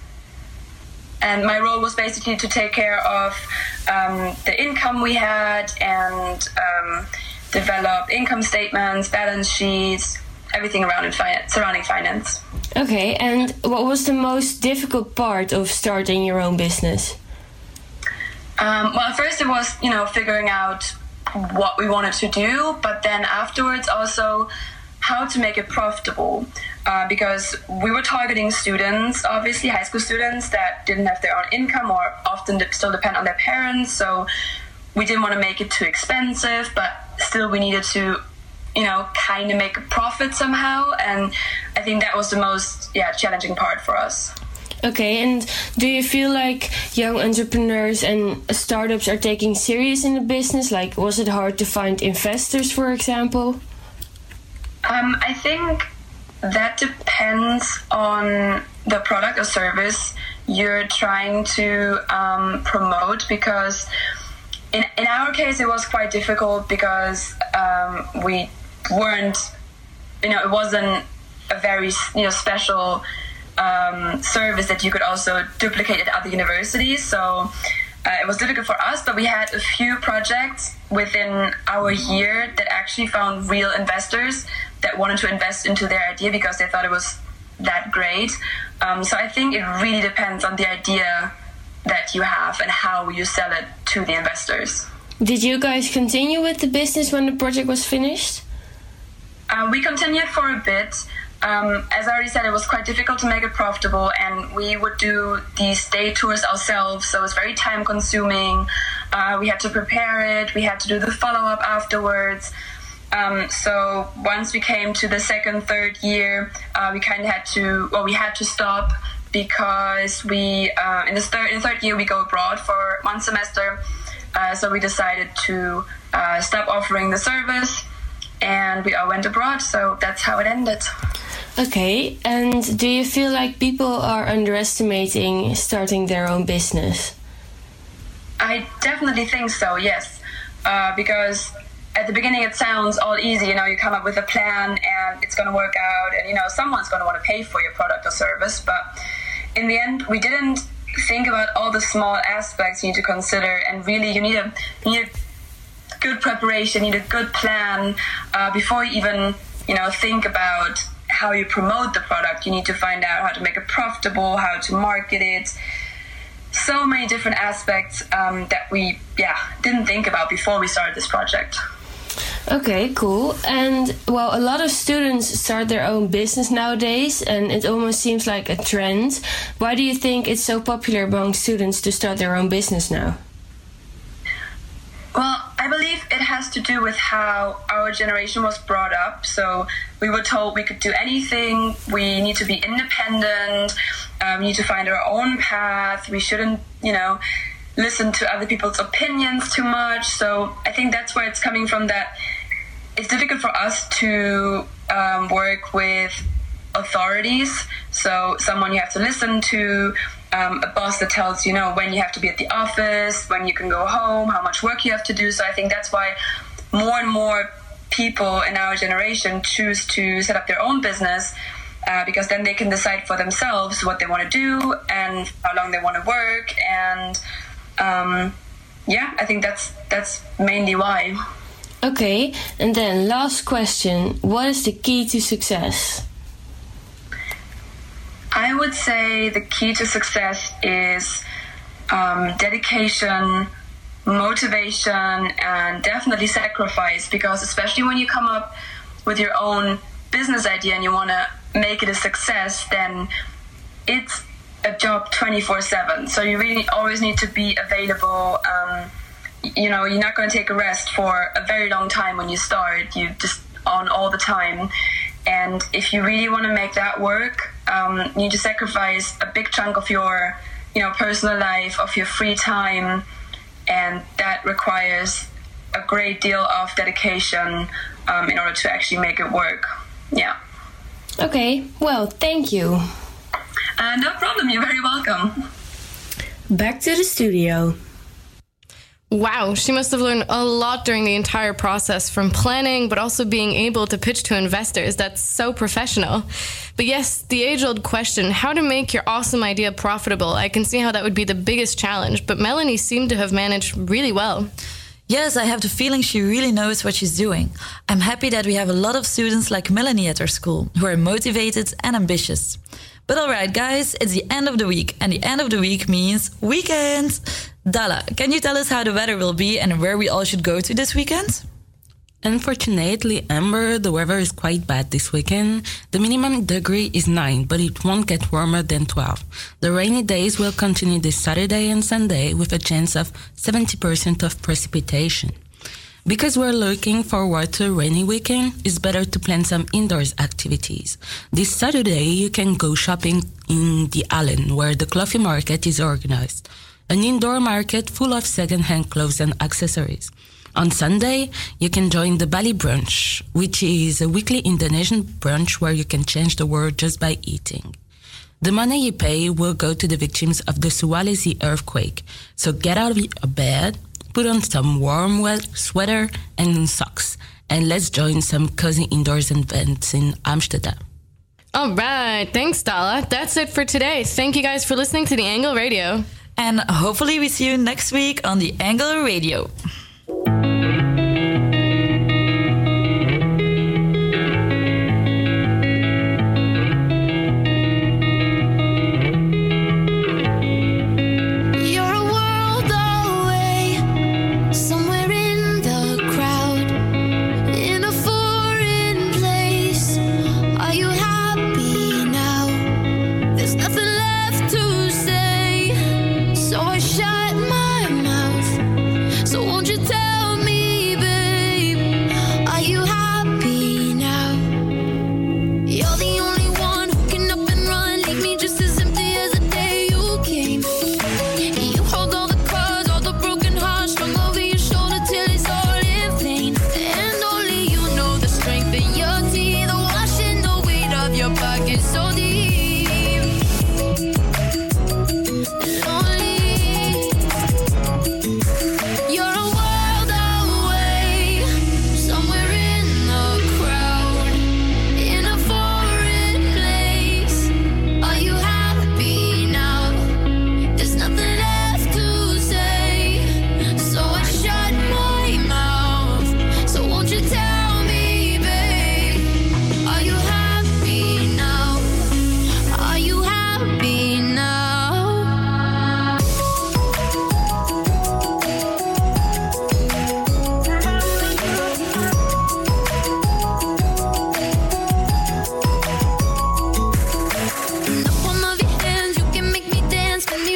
And my role was basically to take care of the income we had and develop income statements, balance sheets, everything surrounding finance. Okay, and what was the most difficult part of starting your own business? Well, at first it was, figuring out what we wanted to do, but then afterwards also how to make it profitable. Because we were targeting students, obviously high school students that didn't have their own income or often still depend on their parents. So we didn't want to make it too expensive, but still we needed to, kind of make a profit somehow. And I think that was the most challenging part for us. Okay, and do you feel like young entrepreneurs and startups are taking serious in the business? Was it hard to find investors, for example? I think that depends on the product or service you're trying to promote, because in our case it was quite difficult because we weren't, it wasn't a very special service that you could also duplicate at other universities. So it was difficult for us, but we had a few projects within our year that actually found real investors that wanted to invest into their idea because they thought it was that great. So I think it really depends on the idea that you have and how you sell it to the investors. Did you guys continue with the business when the project was finished? We continued for a bit. As I already said, it was quite difficult to make it profitable, and we would do these day tours ourselves, so it was very time consuming. We had to prepare it, we had to do the follow-up afterwards. So once we came to the 2nd, 3rd year, we had to stop because in the 3rd year we go abroad for 1 semester. So we decided to stop offering the service, and we all went abroad, so that's how it ended. Okay, and do you feel like people are underestimating starting their own business? I definitely think so, yes. Because at the beginning it sounds all easy, you come up with a plan and it's going to work out, and someone's going to want to pay for your product or service. But in the end, we didn't think about all the small aspects you need to consider, and really you need a good preparation, you need a good plan before you even think about how you promote the product. You need to find out how to make it profitable, how to market it. So many different aspects that we didn't think about before we started this project. Okay, cool. And a lot of students start their own business nowadays, and it almost seems like a trend. Why do you think it's so popular among students to start their own business now? Well, I believe has to do with how our generation was brought up. So we were told we could do anything. We need to be independent. We need to find our own path. We shouldn't, listen to other people's opinions too much. So I think that's where it's coming from, that it's difficult for us to work with authorities. So someone you have to listen to, a boss that tells you, when you have to be at the office, when you can go home, how much work you have to do. So I think that's why more and more people in our generation choose to set up their own business, because then they can decide for themselves what they want to do and how long they want to work. And I think that's mainly why. Okay, and then last question. What is the key to success? I would say the key to success is dedication, motivation, and definitely sacrifice, because especially when you come up with your own business idea and you want to make it a success, then it's a job 24/7. So you really always need to be available. You're not going to take a rest for a very long time when you start. You're just on all the time. And if you really want to make that work, you need to sacrifice a big chunk of your, personal life, of your free time. And that requires a great deal of dedication in order to actually make it work. Yeah. Okay, well, thank you. No problem, you're very welcome. Back to the studio. Wow, she must have learned a lot during the entire process, from planning, but also being able to pitch to investors. That's so professional. But yes, the age-old question, how to make your awesome idea profitable. I can see how that would be the biggest challenge, but Melanie seemed to have managed really well. Yes, I have the feeling she really knows what she's doing. I'm happy that we have a lot of students like Melanie at our school, who are motivated and ambitious. But all right, guys, it's the end of the week, and the end of the week means weekend. Dala, can you tell us how the weather will be and where we all should go to this weekend? Unfortunately, Amber, the weather is quite bad this weekend. The minimum degree is 9, but it won't get warmer than 12. The rainy days will continue this Saturday and Sunday with a chance of 70% of precipitation. Because we're looking forward to a rainy weekend, it's better to plan some indoors activities. This Saturday, you can go shopping in the Allen, where the coffee market is organized. An indoor market full of second-hand clothes and accessories. On Sunday, you can join the Bali Brunch, which is a weekly Indonesian brunch where you can change the world just by eating. The money you pay will go to the victims of the Sulawesi earthquake. So get out of your bed, put on some warm sweater and socks, and let's join some cozy indoors events in Amsterdam. All right, thanks, Dala. That's it for today. Thank you guys for listening to The Angle Radio. And hopefully we see you next week on The Angle Radio.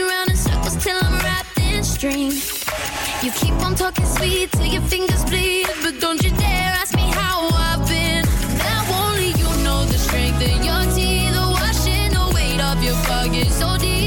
You keep on talking sweet till your fingers bleed. I get so deep